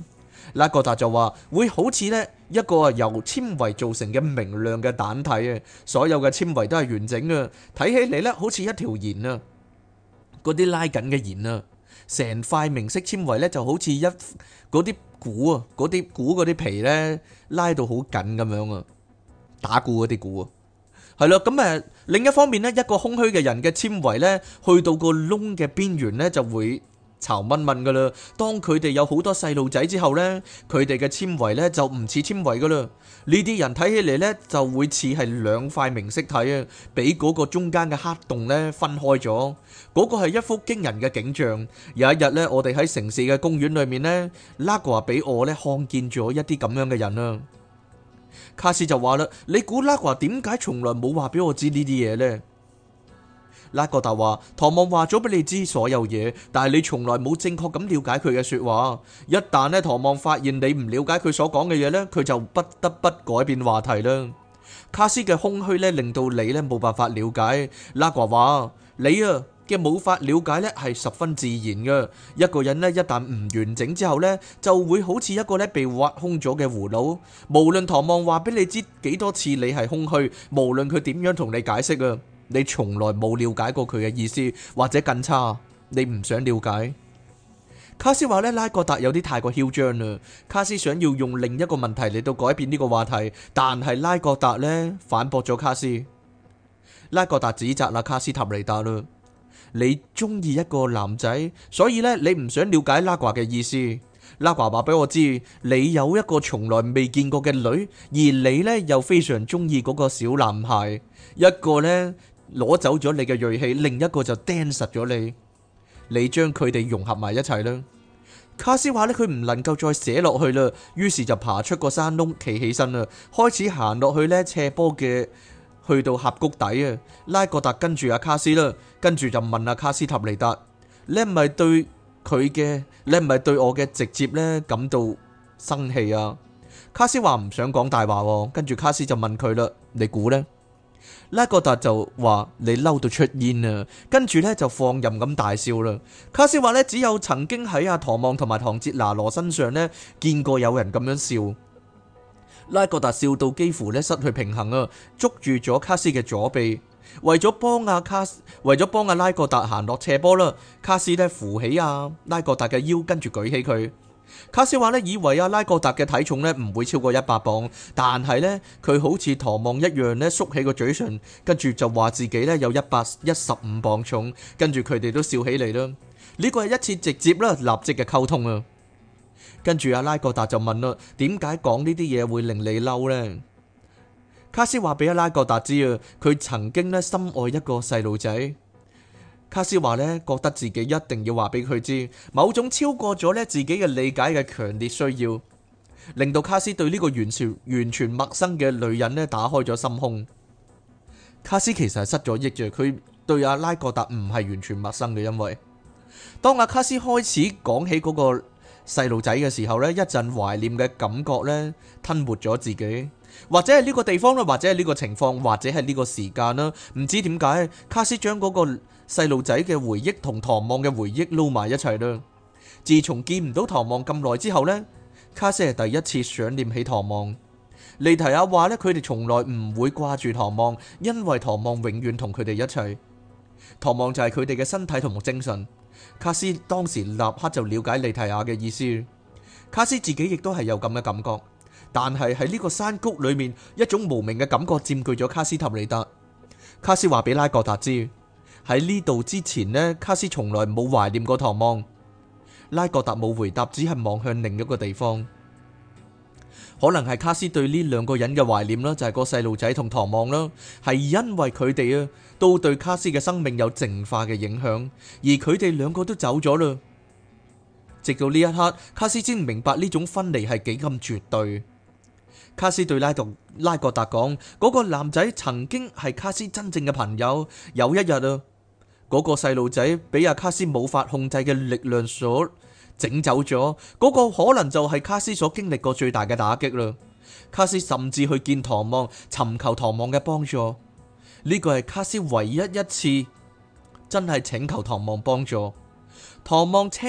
拉各達就話會好似呢一個由纖維造成嘅明亮嘅蛋體啊，所有嘅纖維都係完整嘅，睇起嚟呢好似一條弦啊，嗰啲拉緊嘅弦啊，成塊明色纖維呢就好似一嗰啲鼓啊，嗰啲鼓嗰啲皮呢拉到好緊咁樣啊，打鼓嗰啲鼓啊，係咯，咁誒另一方面呢，一個空虛嘅人嘅纖維呢，去到個窿嘅邊緣呢就會巢蚊蚊噶啦，當佢哋有好多細路仔之後呢，佢哋嘅纖維呢就唔似纖維噶啦。呢啲人睇起嚟呢就會似係兩塊明色體啊，俾嗰個中間嘅黑洞呢分開咗。嗰個係一幅驚人嘅景象。有一日呢，我哋喺城市嘅公園裏面呢，拉瓜俾我呢看見咗一啲咁樣嘅人啊。卡斯就話啦：你估拉瓜點解從來冇話俾我知呢啲嘢呢？拉各達話：唐望話咗俾你知所有嘢，但係你從來冇正確咁了解佢嘅說話。一旦呢，唐望發現你唔了解佢所講嘅嘢呢，佢就不得不改變話題啦。卡斯嘅空虛呢，令到你呢冇辦法了解。拉瓜話：你啊嘅冇法了解呢係十分自然嘅。一個人呢，一旦唔完整之後呢，就會好似一個呢被挖空咗嘅葫蘆。無論唐望話俾你知幾多次你係空虛，無論佢點樣同你解釋啊，你從來冇了解過佢嘅意思，或者更差，你唔想了解。卡斯話呢，拉各達有啲太過囂張啦。卡斯想要用另一個問題嚟到改變呢個話題，但係拉各達呢反駁咗卡斯。拉各達指責啦卡斯塔尼達啦，你中意一個男仔，所以呢，你唔想了解拉瓜嘅意思。拉瓜話俾我知，你有一個從來未見過嘅女，而你呢又非常中意嗰個小男孩，一個呢攞走咗你嘅銳氣，另一個就釘實咗你，你將佢哋融合埋一齊啦。卡斯話呢，佢唔能夠再寫落去啦，於是就爬出個山窿，企起身啦，開始行落去呢斜坡嘅，去到峽谷底啊。拉各達跟住阿卡斯啦，跟住就問阿卡斯塔尼達：你係咪對佢嘅，你係咪對我嘅直接呢感到生氣啊？卡斯話唔想講大話，跟住卡斯就問佢啦：你估呢？拉各達就話：你嬲到出煙啊！跟住呢就放任咁大笑啦。卡斯話呢，只有曾經喺阿唐望同埋唐哲拿羅身上呢見過有人咁樣笑。拉各達笑到幾乎呢失去平衡啊，捉住咗卡斯嘅左臂，為咗幫阿卡斯，為咗幫阿拉各達行落斜坡啦。卡斯呢扶起阿拉各達嘅腰，跟住舉起佢。卡斯話呢，以為阿拉各達嘅體重呢唔會超過一百磅，但係呢，佢好似唐望一樣呢縮起個嘴唇，跟住就話自己呢有一百一十五磅重，跟住佢哋都笑起嚟啦。呢個係一次直接啦、立即嘅溝通啊。跟住阿拉各達就問啦：點解講呢啲嘢會令你嬲呢？卡斯話俾阿拉各達知啊，佢曾經呢深愛一個細路仔。卡斯話呢，覺得自己一定要話俾佢知，某種超過咗呢自己嘅理解嘅強烈需要，令到卡斯對呢個完全完全陌生嘅女人呢打開咗心胸。卡斯其實係失咗憶嘅，佢對阿拉各達唔係完全陌生嘅，因為當阿卡斯開始講起嗰個細路仔嘅時候呢，一陣懷念嘅感覺呢吞沒咗自己。或者係呢個地方啦，或者係呢個情況，或者係呢個時間啦，唔知點解卡斯將嗰個細路仔嘅回憶同唐望嘅回憶撈埋一齊啦。自從見唔到唐望咁耐之後呢，卡斯係第一次想念起唐望。利提亞話呢，佢哋從來唔會掛住唐望，因為唐望永遠同佢哋一齊。唐望就係佢哋嘅身體同埋精神。卡斯當時立刻就了解利提亞嘅意思。卡斯自己亦都係有咁嘅感覺。但係喺呢個山谷裏面，一種無名嘅感覺佔據咗卡斯塔尼達。卡斯話俾拉各達知，喺呢度之前呢，卡斯從來冇懷念過唐望。拉各達冇回答，只係望向另一個地方。可能係卡斯對呢兩個人嘅懷念啦，就係個細路仔同唐望啦，係因為佢哋啊都對卡斯嘅生命有淨化嘅影響，而佢哋兩個都走咗啦。直到呢一刻，卡斯先明白呢種分離係幾咁絕對。卡斯對拉特拉各達講，嗰個男仔曾經係卡斯真正嘅朋友。有一日啊，嗰個細路仔俾阿卡斯冇法控制嘅力量所整走咗，嗰個可能就係卡斯所經歷過最大嘅打擊啦。卡斯甚至去見唐望，尋求唐望嘅幫助。呢個係卡斯唯一一次真係請求唐望幫助。唐望車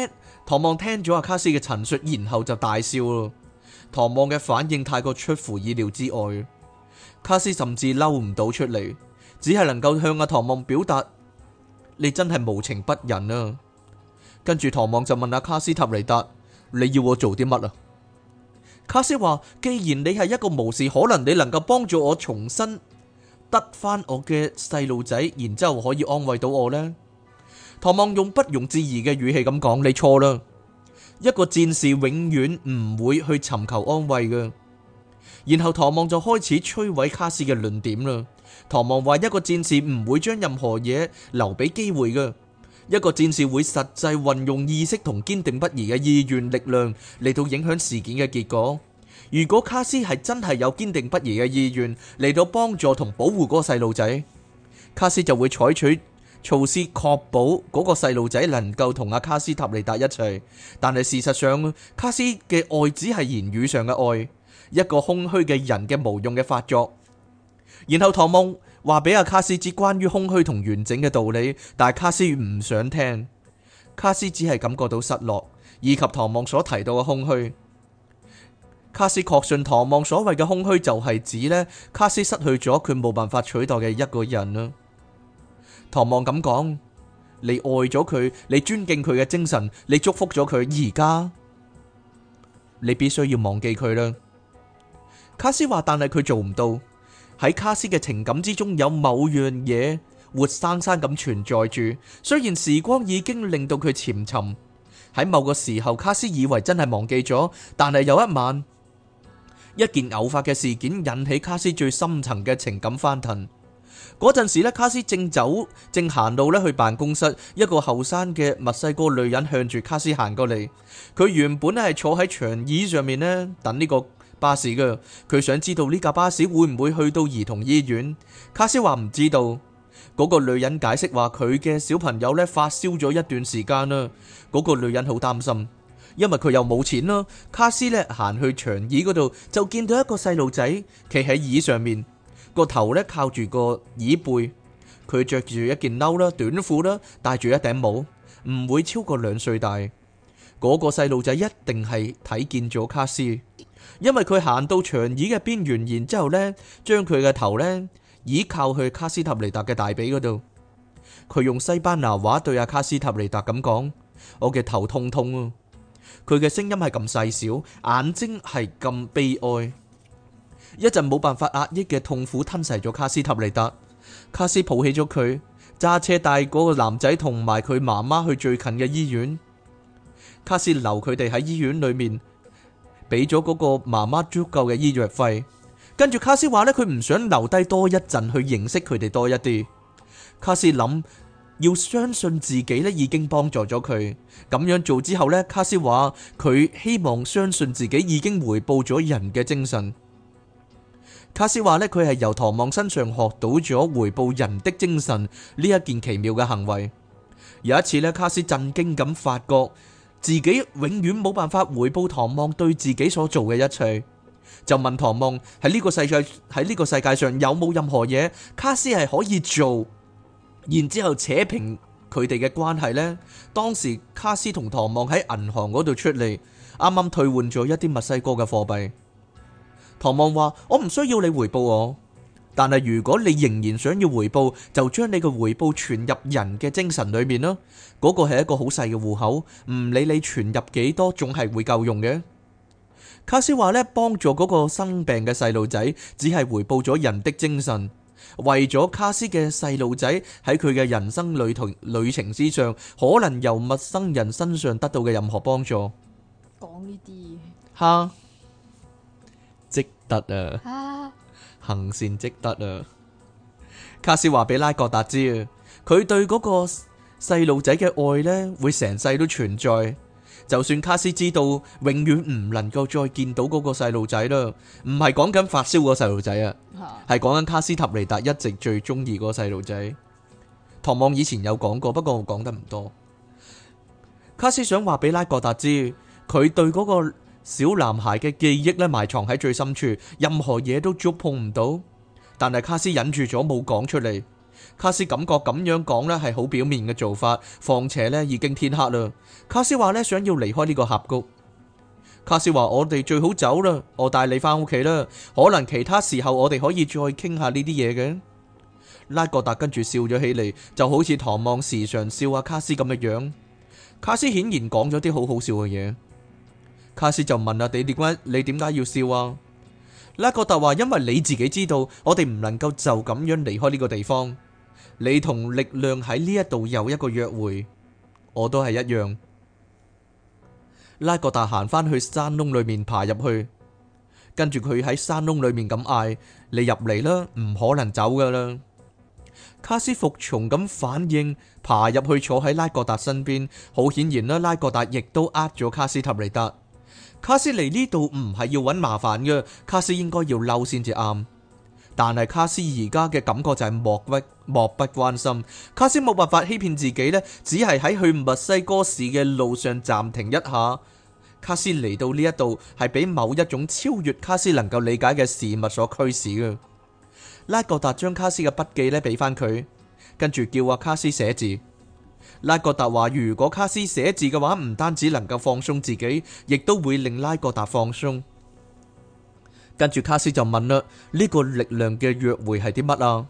唐望聽咗阿卡斯嘅陳述，然後就大笑咯。唐望嘅反應太過出乎意料之外，卡斯甚至嬲唔到出嚟，只係能夠向阿唐望表達：你真係無情不忍啊！跟住唐望就問阿卡斯塔尼達：你要我做啲乜啊？卡斯話：既然你係一個巫士，可能你能夠幫助我重新得翻我嘅細路仔，然之後可以安慰到我呢？唐望用不容置疑嘅語氣咁講：你錯啦，一個戰士永遠唔會去尋求安慰嘅。然後唐望就開始摧毀卡斯嘅論點啦。唐望話：一個戰士唔會將任何嘢留俾機會嘅，一個戰士會實際運用意識同堅定不移嘅意願力量嚟到影響事件嘅結果。如果卡斯係真係有堅定不移嘅意願嚟到幫助同保護嗰個細路仔，卡斯就會採取措施確保嗰個細路仔能夠同阿卡斯塔尼達一齊。但係事實上，卡斯嘅愛只係言語上嘅愛，一個空虛嘅人嘅無用嘅發作。然後唐望話俾阿卡斯知關於空虛同完整嘅道理，但係卡斯唔想聽。卡斯只係感覺到失落，以及唐望所提到嘅空虛。卡斯確信唐望所謂嘅空虛就係指呢，卡斯失去咗佢冇辦法取代嘅一個人啦。唐望咁講：你愛咗佢，你尊敬佢嘅精神，你祝福咗佢，而家你必須要忘記佢啦。卡斯話：但係佢做唔到。喺卡斯嘅情感之中有某樣嘢活生生咁存在住，雖然時光已經令到佢潛沉。喺某個時候，卡斯以為真係忘記咗，但係有一晚，一件偶發嘅事件引起卡斯最深層嘅情感翻騰。嗰陣時咧，卡斯正走正行路咧去辦公室，一個後生嘅墨西哥女人向住卡斯行過嚟。佢原本咧係坐喺長椅上面咧等呢個巴士嘅，佢想知道呢架巴士會唔會去到兒童醫院。卡斯話唔知道。嗰個女人解釋話佢嘅小朋友咧發燒咗一段時間啦。嗰個女人好擔心，因為佢又冇錢啦。卡斯咧行去長椅嗰度，就見到一個細路仔企喺椅上面，個頭咧靠住個椅背。佢着住一件褸啦、短褲啦，戴住一頂帽，唔會超過兩歲大。嗰個細路仔一定係睇見咗卡斯，因為佢行到長椅嘅邊緣，然之後咧將佢嘅頭咧倚靠去卡斯塔尼達嘅大髀嗰度。佢用西班牙話對阿卡斯塔尼達咁講：我嘅頭痛痛啊！佢嘅聲音係咁細小，眼睛係咁悲哀，一陣冇辦法壓抑嘅痛苦吞噬咗卡斯塔尼達。卡斯抱起咗佢，揸車帶嗰個男仔同埋佢媽媽去最近嘅醫院。卡斯留佢哋喺醫院裏面，俾咗嗰個媽媽足夠嘅醫藥費。跟住卡斯話呢，佢唔想留低多一陣去認識佢哋多一啲。卡斯諗要相信自己呢已經幫助咗佢。咁樣做之後呢，卡斯話佢希望相信自己已經回報咗人嘅精神。卡斯話呢，佢係由唐望身上學到咗回報人的精神呢一件奇妙嘅行為。有一次呢，卡斯震驚咁發覺自己永遠冇辦法回報唐望對自己所做嘅一切，就問唐望喺呢個世界喺呢個世界上有冇任何嘢卡斯係可以做，然之後扯平佢哋嘅關係呢？當時卡斯同唐望喺銀行嗰度出嚟，啱啱退換咗一啲墨西哥嘅貨幣。唐望話：我唔需要你回報我，但係如果你仍然想要回報，就將你嘅回報存入人嘅精神裏面啦。嗰個係一個好細嘅戶口，唔理你存入幾多，總係會夠用嘅。卡斯話呢，幫助嗰個生病嘅細路仔，只係回報咗人的精神。為咗卡斯嘅細路仔喺佢嘅人生旅途旅程之上，可能由陌生人身上得到嘅任何幫助。 講呢啲哈，積德啊！ 啊， 行善積德啊！卡斯話俾拉各達知啊，佢對嗰個細路仔嘅愛呢，會成世都存在。就算卡斯知道永遠唔能夠再見到嗰個細路仔啦，唔係講緊發燒嗰個細路仔啊，係講緊卡斯塔尼達一直最中意嗰個細路仔。唐望以前有講過，不過我講得唔多。卡斯想話俾拉各達知，佢對嗰個小男孩嘅記憶咧埋藏喺最深處，任何嘢都觸碰唔到。但係卡斯忍住咗冇講出嚟。 卡斯感覺咁樣講呢係好表面嘅做法，況且呢已經天黑啦。卡斯話呢想要離開呢個峽谷。卡斯話我哋最好走啦，我帶你翻屋企啦，可能其他時候我哋可以再傾下呢啲嘢嘅。拉各達跟住笑咗起嚟，就好似唐望時常笑阿卡斯咁嘅樣。卡斯顯然講咗啲好好笑嘅嘢。卡斯就問啦：你點解你點解要笑啊？拉各達話：因為你自己知道，我哋唔能夠就咁樣離開呢個地方。你同力量喺呢一度有一個約會，我都係一樣。拉各達行返去山窿裏面爬入去，跟住佢喺山窿裏面咁嗌：你入嚟啦，唔可能走噶啦。卡斯服從咁反應，爬入去坐喺拉各達身邊。好顯然啦，拉各達亦都呃咗卡斯塔尼達。卡斯嚟呢度唔係要揾麻煩嘅，卡斯應該要嬲先至啱。但係卡斯而家嘅感覺就係漠不漠不關心。卡斯冇辦法欺騙自己呢，只係喺去墨西哥市嘅路上暫停一下。卡斯嚟到呢一度係俾某一種超越卡斯能夠理解嘅事物所驅使嘅。拉各達將卡斯嘅筆記呢俾翻佢，跟住叫阿卡斯寫字。拉各達話：如果卡斯寫字嘅話，唔單止能夠放鬆自己，亦都會令拉各達放鬆。跟住卡斯就問啦：呢個力量嘅約會係啲乜啊？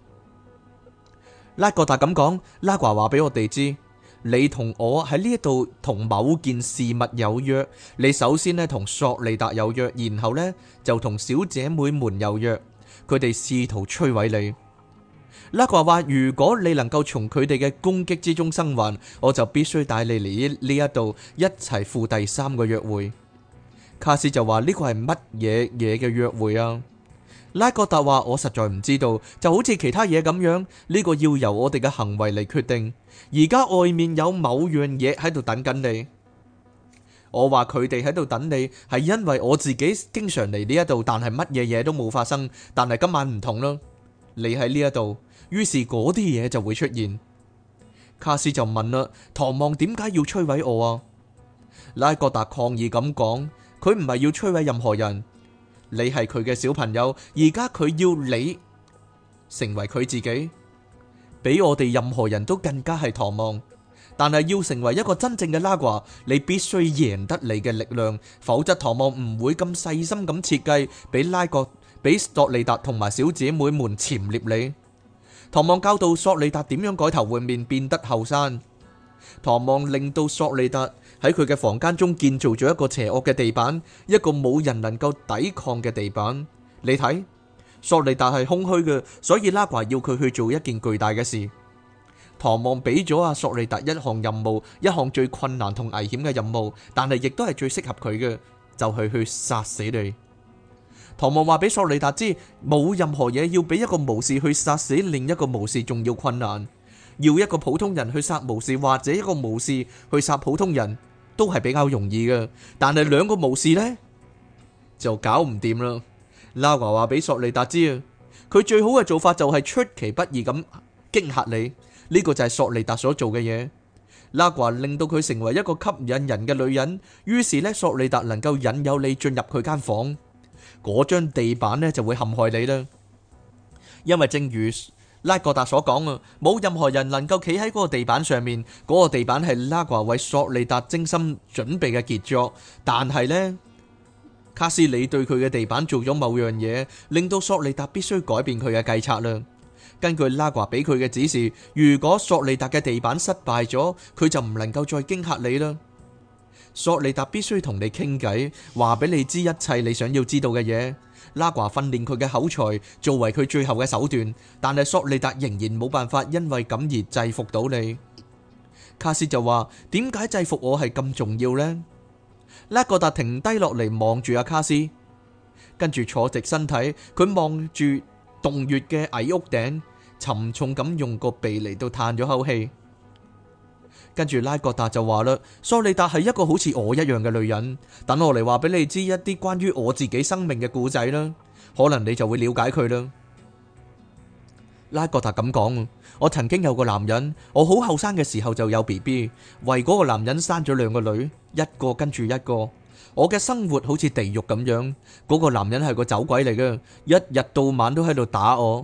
拉各達咁講，拉華話俾我哋知，你同我喺呢一度同某件事物有約。你首先呢同索利達有約，然後呢就同小姐妹們有約，佢哋試圖摧毀你。拉華話：如果你能夠從佢哋嘅攻擊之中生還，我就必須帶你嚟呢一度一齊赴第三個約會。卡斯就話：呢個係乜嘢嘢嘅約會啊？拉各達話：我實在唔知道，就好似其他嘢咁樣，呢個要由我哋嘅行為嚟決定。而家外面有某樣嘢喺度等緊你。我話佢哋喺度等你，係因為我自己經常嚟呢一度，但係乜嘢嘢都冇發生。但係今晚唔同啦，你喺呢一度。於是嗰啲嘢就會出現。卡斯就問啦：唐望點解要摧毀我啊？拉各達抗議咁講：佢唔係要摧毀任何人，你係佢嘅小朋友，而家佢要你成為佢自己，比我哋任何人都更加係唐望。但係要成為一個真正嘅拉華，你必須贏得你嘅力量，否則唐望唔會咁細心咁設計，俾拉各俾索利達同埋小姐妹們潛獵你。唐望教導索利達點樣改頭換面，變得後生。唐望令到索利達喺佢嘅房間中建造咗一個邪惡嘅地板，一個冇人能夠抵抗嘅地板。你睇，索利達係空虛嘅，所以拉華要佢去做一件巨大嘅事。唐望俾咗阿索利達一項任務，一項最困難同危險嘅任務，但係亦都係最適合佢嘅，就係去殺死你。唐望話俾索利達知，冇任何嘢要比一個巫士去殺死另一個巫士仲要困難。要一個普通人去殺巫士，或者一個巫士去殺普通人，都係比較容易嘅。但係兩個巫士呢，就搞唔掂啦。拉華話俾索利達知啊，佢最好嘅做法就係出其不意咁驚嚇你。呢個就係索利達所做嘅嘢。拉華令到佢成為一個吸引人嘅女人，於是呢，索利達能夠引誘你進入佢間房。嗰張地板呢就會陷害你啦，因為正如拉各達所講啊，冇任何人能夠企喺嗰個地板上面。嗰個地板係拉華為索利達精心準備嘅傑作，但係呢，卡斯里對佢嘅地板做咗某樣嘢，令到索利達必須改變佢嘅計策啦。根據拉華俾佢嘅指示，如果索利達嘅地板失敗咗，佢就唔能夠再驚嚇你啦。索利達必須同你傾偈，話俾你知一切你想要知道嘅嘢。拉華訓練佢嘅口才，作為佢最後嘅手段，但係索利達仍然冇辦法因為咁而制服到你。卡斯就話：點解制服我係咁重要呢？拉各達停低落嚟望住阿卡斯，跟住坐直身體，佢望住洞穴嘅矮屋頂，沉重咁用個鼻嚟到嘆咗口氣。跟住拉各達就話啦：索利達係一個好似我一樣嘅女人，等我嚟話俾你知一啲關於我自己生命嘅故仔啦，可能你就會了解佢啦。拉各達咁講：我曾經有個男人，我好後生嘅時候就有 B B， 為嗰個男人生咗兩個女，一個跟住一個。我嘅生活好似地獄咁樣，嗰個男人係個走鬼嚟嘅，一日到晚都喺度打我，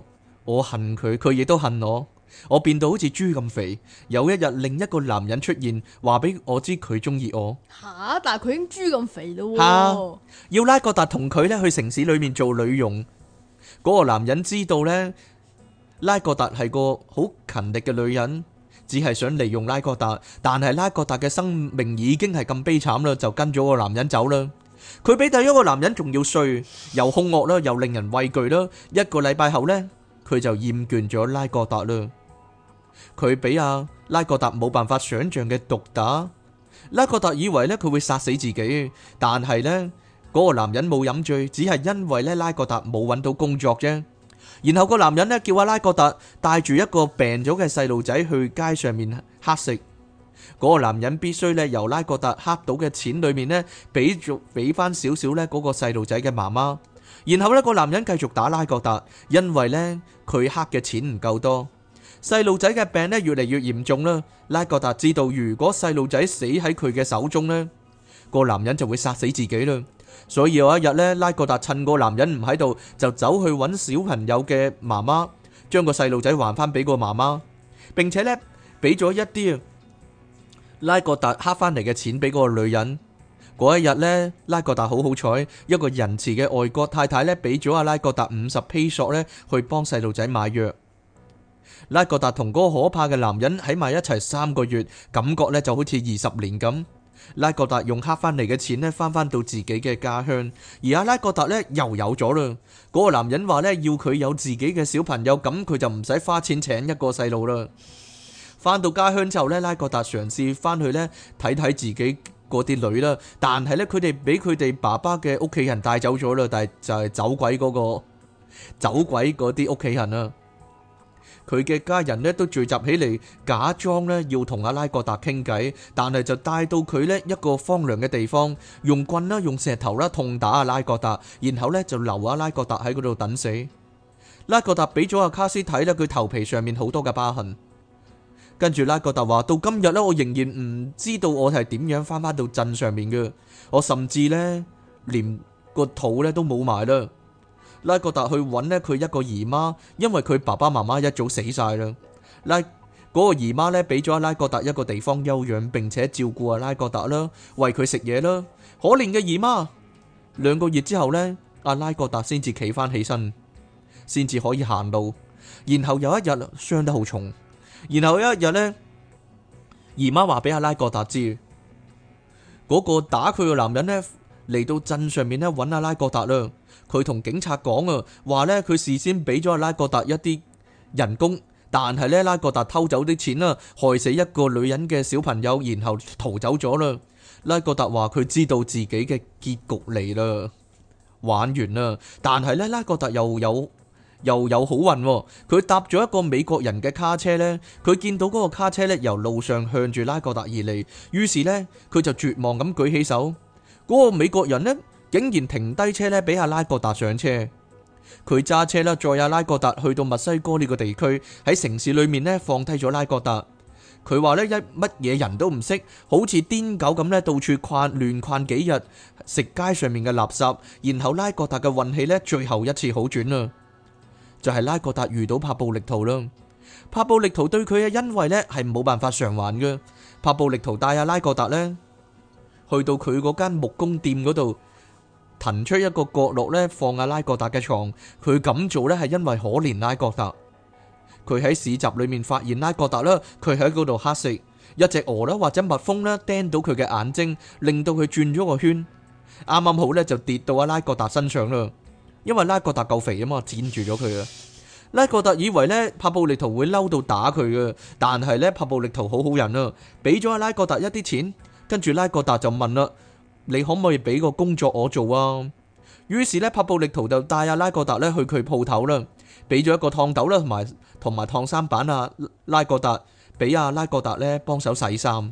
我恨佢，佢亦都恨我。我變到好似豬咁肥。有一日，另一個男人出現，話俾我知佢中意我。 吓，但係佢已經豬咁肥咯喎。 吓，要拉各達同佢咧去城市裏面做女傭。嗰個男人知道呢，拉各達係個好勤力嘅女人，只係想利用拉各達。但係拉各達嘅生命已經係咁悲慘啦，就跟咗個男人走啦。佢比第一個男人仲要衰，又兇惡啦，又令人畏懼啦。一個禮拜後呢，佢就厭倦咗拉各達啦。佢俾阿拉各達冇辦法想象嘅毒打。拉各達以為呢，佢會殺死自己，但係呢，嗰個男人冇飲醉，只係因為呢，拉各達冇揾到工作啫。然後個男人呢，叫阿拉各達帶住一個病咗嘅細路仔去街上面乞食。嗰個男人必須呢，由拉各達乞到嘅錢裏面呢，俾咗俾翻少少呢嗰個細路仔嘅媽媽。然後呢，個男人繼續打拉各達，因為呢，佢乞嘅錢唔夠多。細路仔嘅病呢，越嚟越嚴重啦。拉各達知道如果細路仔死喺佢嘅手中呢，個男人就會殺死自己啦。所以有一日呢，拉各達趁個男人唔喺度，就走去揾小朋友嘅媽媽，將個細路仔還翻俾個媽媽，並且呢，俾咗一啲拉各達乞翻嚟嘅錢俾嗰個女人。嗰一日呢，拉各達好好彩，一個仁慈嘅外國太太呢，俾咗阿拉各達五十披索呢，去幫細路仔買藥。拉各達同嗰個可怕嘅男人喺埋一齊三個月，感覺呢就好似二十年咁。拉各達用黑翻嚟嘅錢呢，翻翻到自己嘅家鄉，而阿拉各達呢又有咗啦。嗰個男人話呢，要佢有自己嘅小朋友，咁佢就唔使花錢請一個細路啦。翻到家鄉之後呢，拉各達嘗試翻去呢睇睇自己嗰啲女啦，但係呢，佢哋俾佢哋爸爸嘅屋企人帶走咗啦，但係就係走鬼嗰個走鬼嗰啲屋企人啊。佢嘅家人呢都聚集起嚟，假裝呢要同阿拉各達傾偈，但係就帶到佢呢一個荒涼嘅地方，用棍啦、用石頭啦痛打阿拉各達，然後呢就留阿拉各達喺嗰度等死。拉各達俾咗阿卡斯睇呢，佢頭皮上面好多嘅疤痕。跟住拉各達話：到今日呢，我仍然唔知道我係點樣翻返到鎮上面嘅，我甚至呢連個肚呢都冇埋啦。拉各達去揾呢佢一個姨媽，因為佢爸爸媽媽一早死晒啦。拉嗰個姨媽呢俾咗阿拉各達一個地方休養，並且照顧阿拉各達啦，餵佢食嘢啦。可憐嘅姨媽，兩個月之後呢，阿拉各達先至企翻起身，先至可以行路。然後有一日傷得好重，然後有一日呢，姨媽話俾阿拉各達知，嗰個打佢嘅男人呢嚟到鎮上面呢揾阿拉各達啦。佢同警察講啊，話呢，佢事先俾咗阿拉各達一啲人工，但係呢，拉各達偷走啲錢啦，害死一個女人嘅小朋友，然後逃走咗啦。拉各達話佢知道自己嘅結局嚟啦，玩完啦。但係呢，拉各達又有又有好運，佢搭咗一個美國人嘅卡車呢，佢見到嗰個卡車呢由路上向住拉各達而嚟，於是呢，佢就絕望咁舉起手，嗰個美國人呢，竟然停低車咧，俾阿拉各達上車。佢揸車啦，載阿拉各達去到墨西哥呢個地區，喺城市裏面咧放低咗拉各達。佢話咧一乜嘢人都唔識，好似癲狗咁咧，到處逛亂逛幾日，食街上面嘅垃圾。然後拉各達嘅運氣咧，最後一次好轉啦，就係、是、拉各達遇到帕布力圖啦。帕布力圖對佢嘅恩惠咧係冇辦法償還嘅。帕布力圖帶阿拉各達咧去到佢嗰間木工店嗰度，騰出一個角落咧，放阿拉各達嘅床。佢咁做咧係因為可憐拉各達。佢喺市集裏面發現拉各達啦，佢喺嗰度乞食，一隻鵝啦或者蜜蜂啦釘到佢嘅眼睛，令到佢轉咗個圈，啱啱好咧就跌到阿拉各達身上啦。因為拉各達夠肥啊嘛，纏住咗佢啊。拉各達以為咧帕布力圖會嬲到打佢嘅，但係咧帕布力圖好好人啊，俾咗阿拉各達一啲錢，跟住拉各達就問啦。你可唔可以俾個工作我做啊？於是咧，帕布力圖就帶阿拉各達咧去佢鋪頭啦，俾咗一個燙斗啦，同埋同埋燙衫板啊。拉各達俾阿拉各達咧幫手洗衫。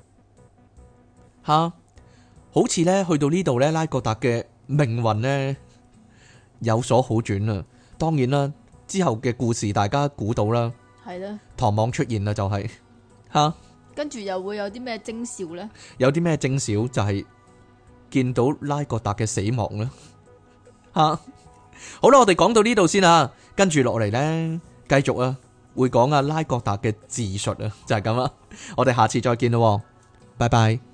吓，好似咧去到呢度咧，拉各達嘅命運咧有所好轉啦。當然啦，之後嘅故事大家估到啦， 係啦， 唐望出現啦，就係吓， 跟住又會有啲咩徵兆咧？ 有啲咩徵兆就係。見到拉各達嘅死亡啦，吓好啦，我哋講到呢度先啦，跟住落嚟呢，繼續啊，會講阿拉各達嘅自述啊，就係咁啦。我哋下次再見咯，拜拜。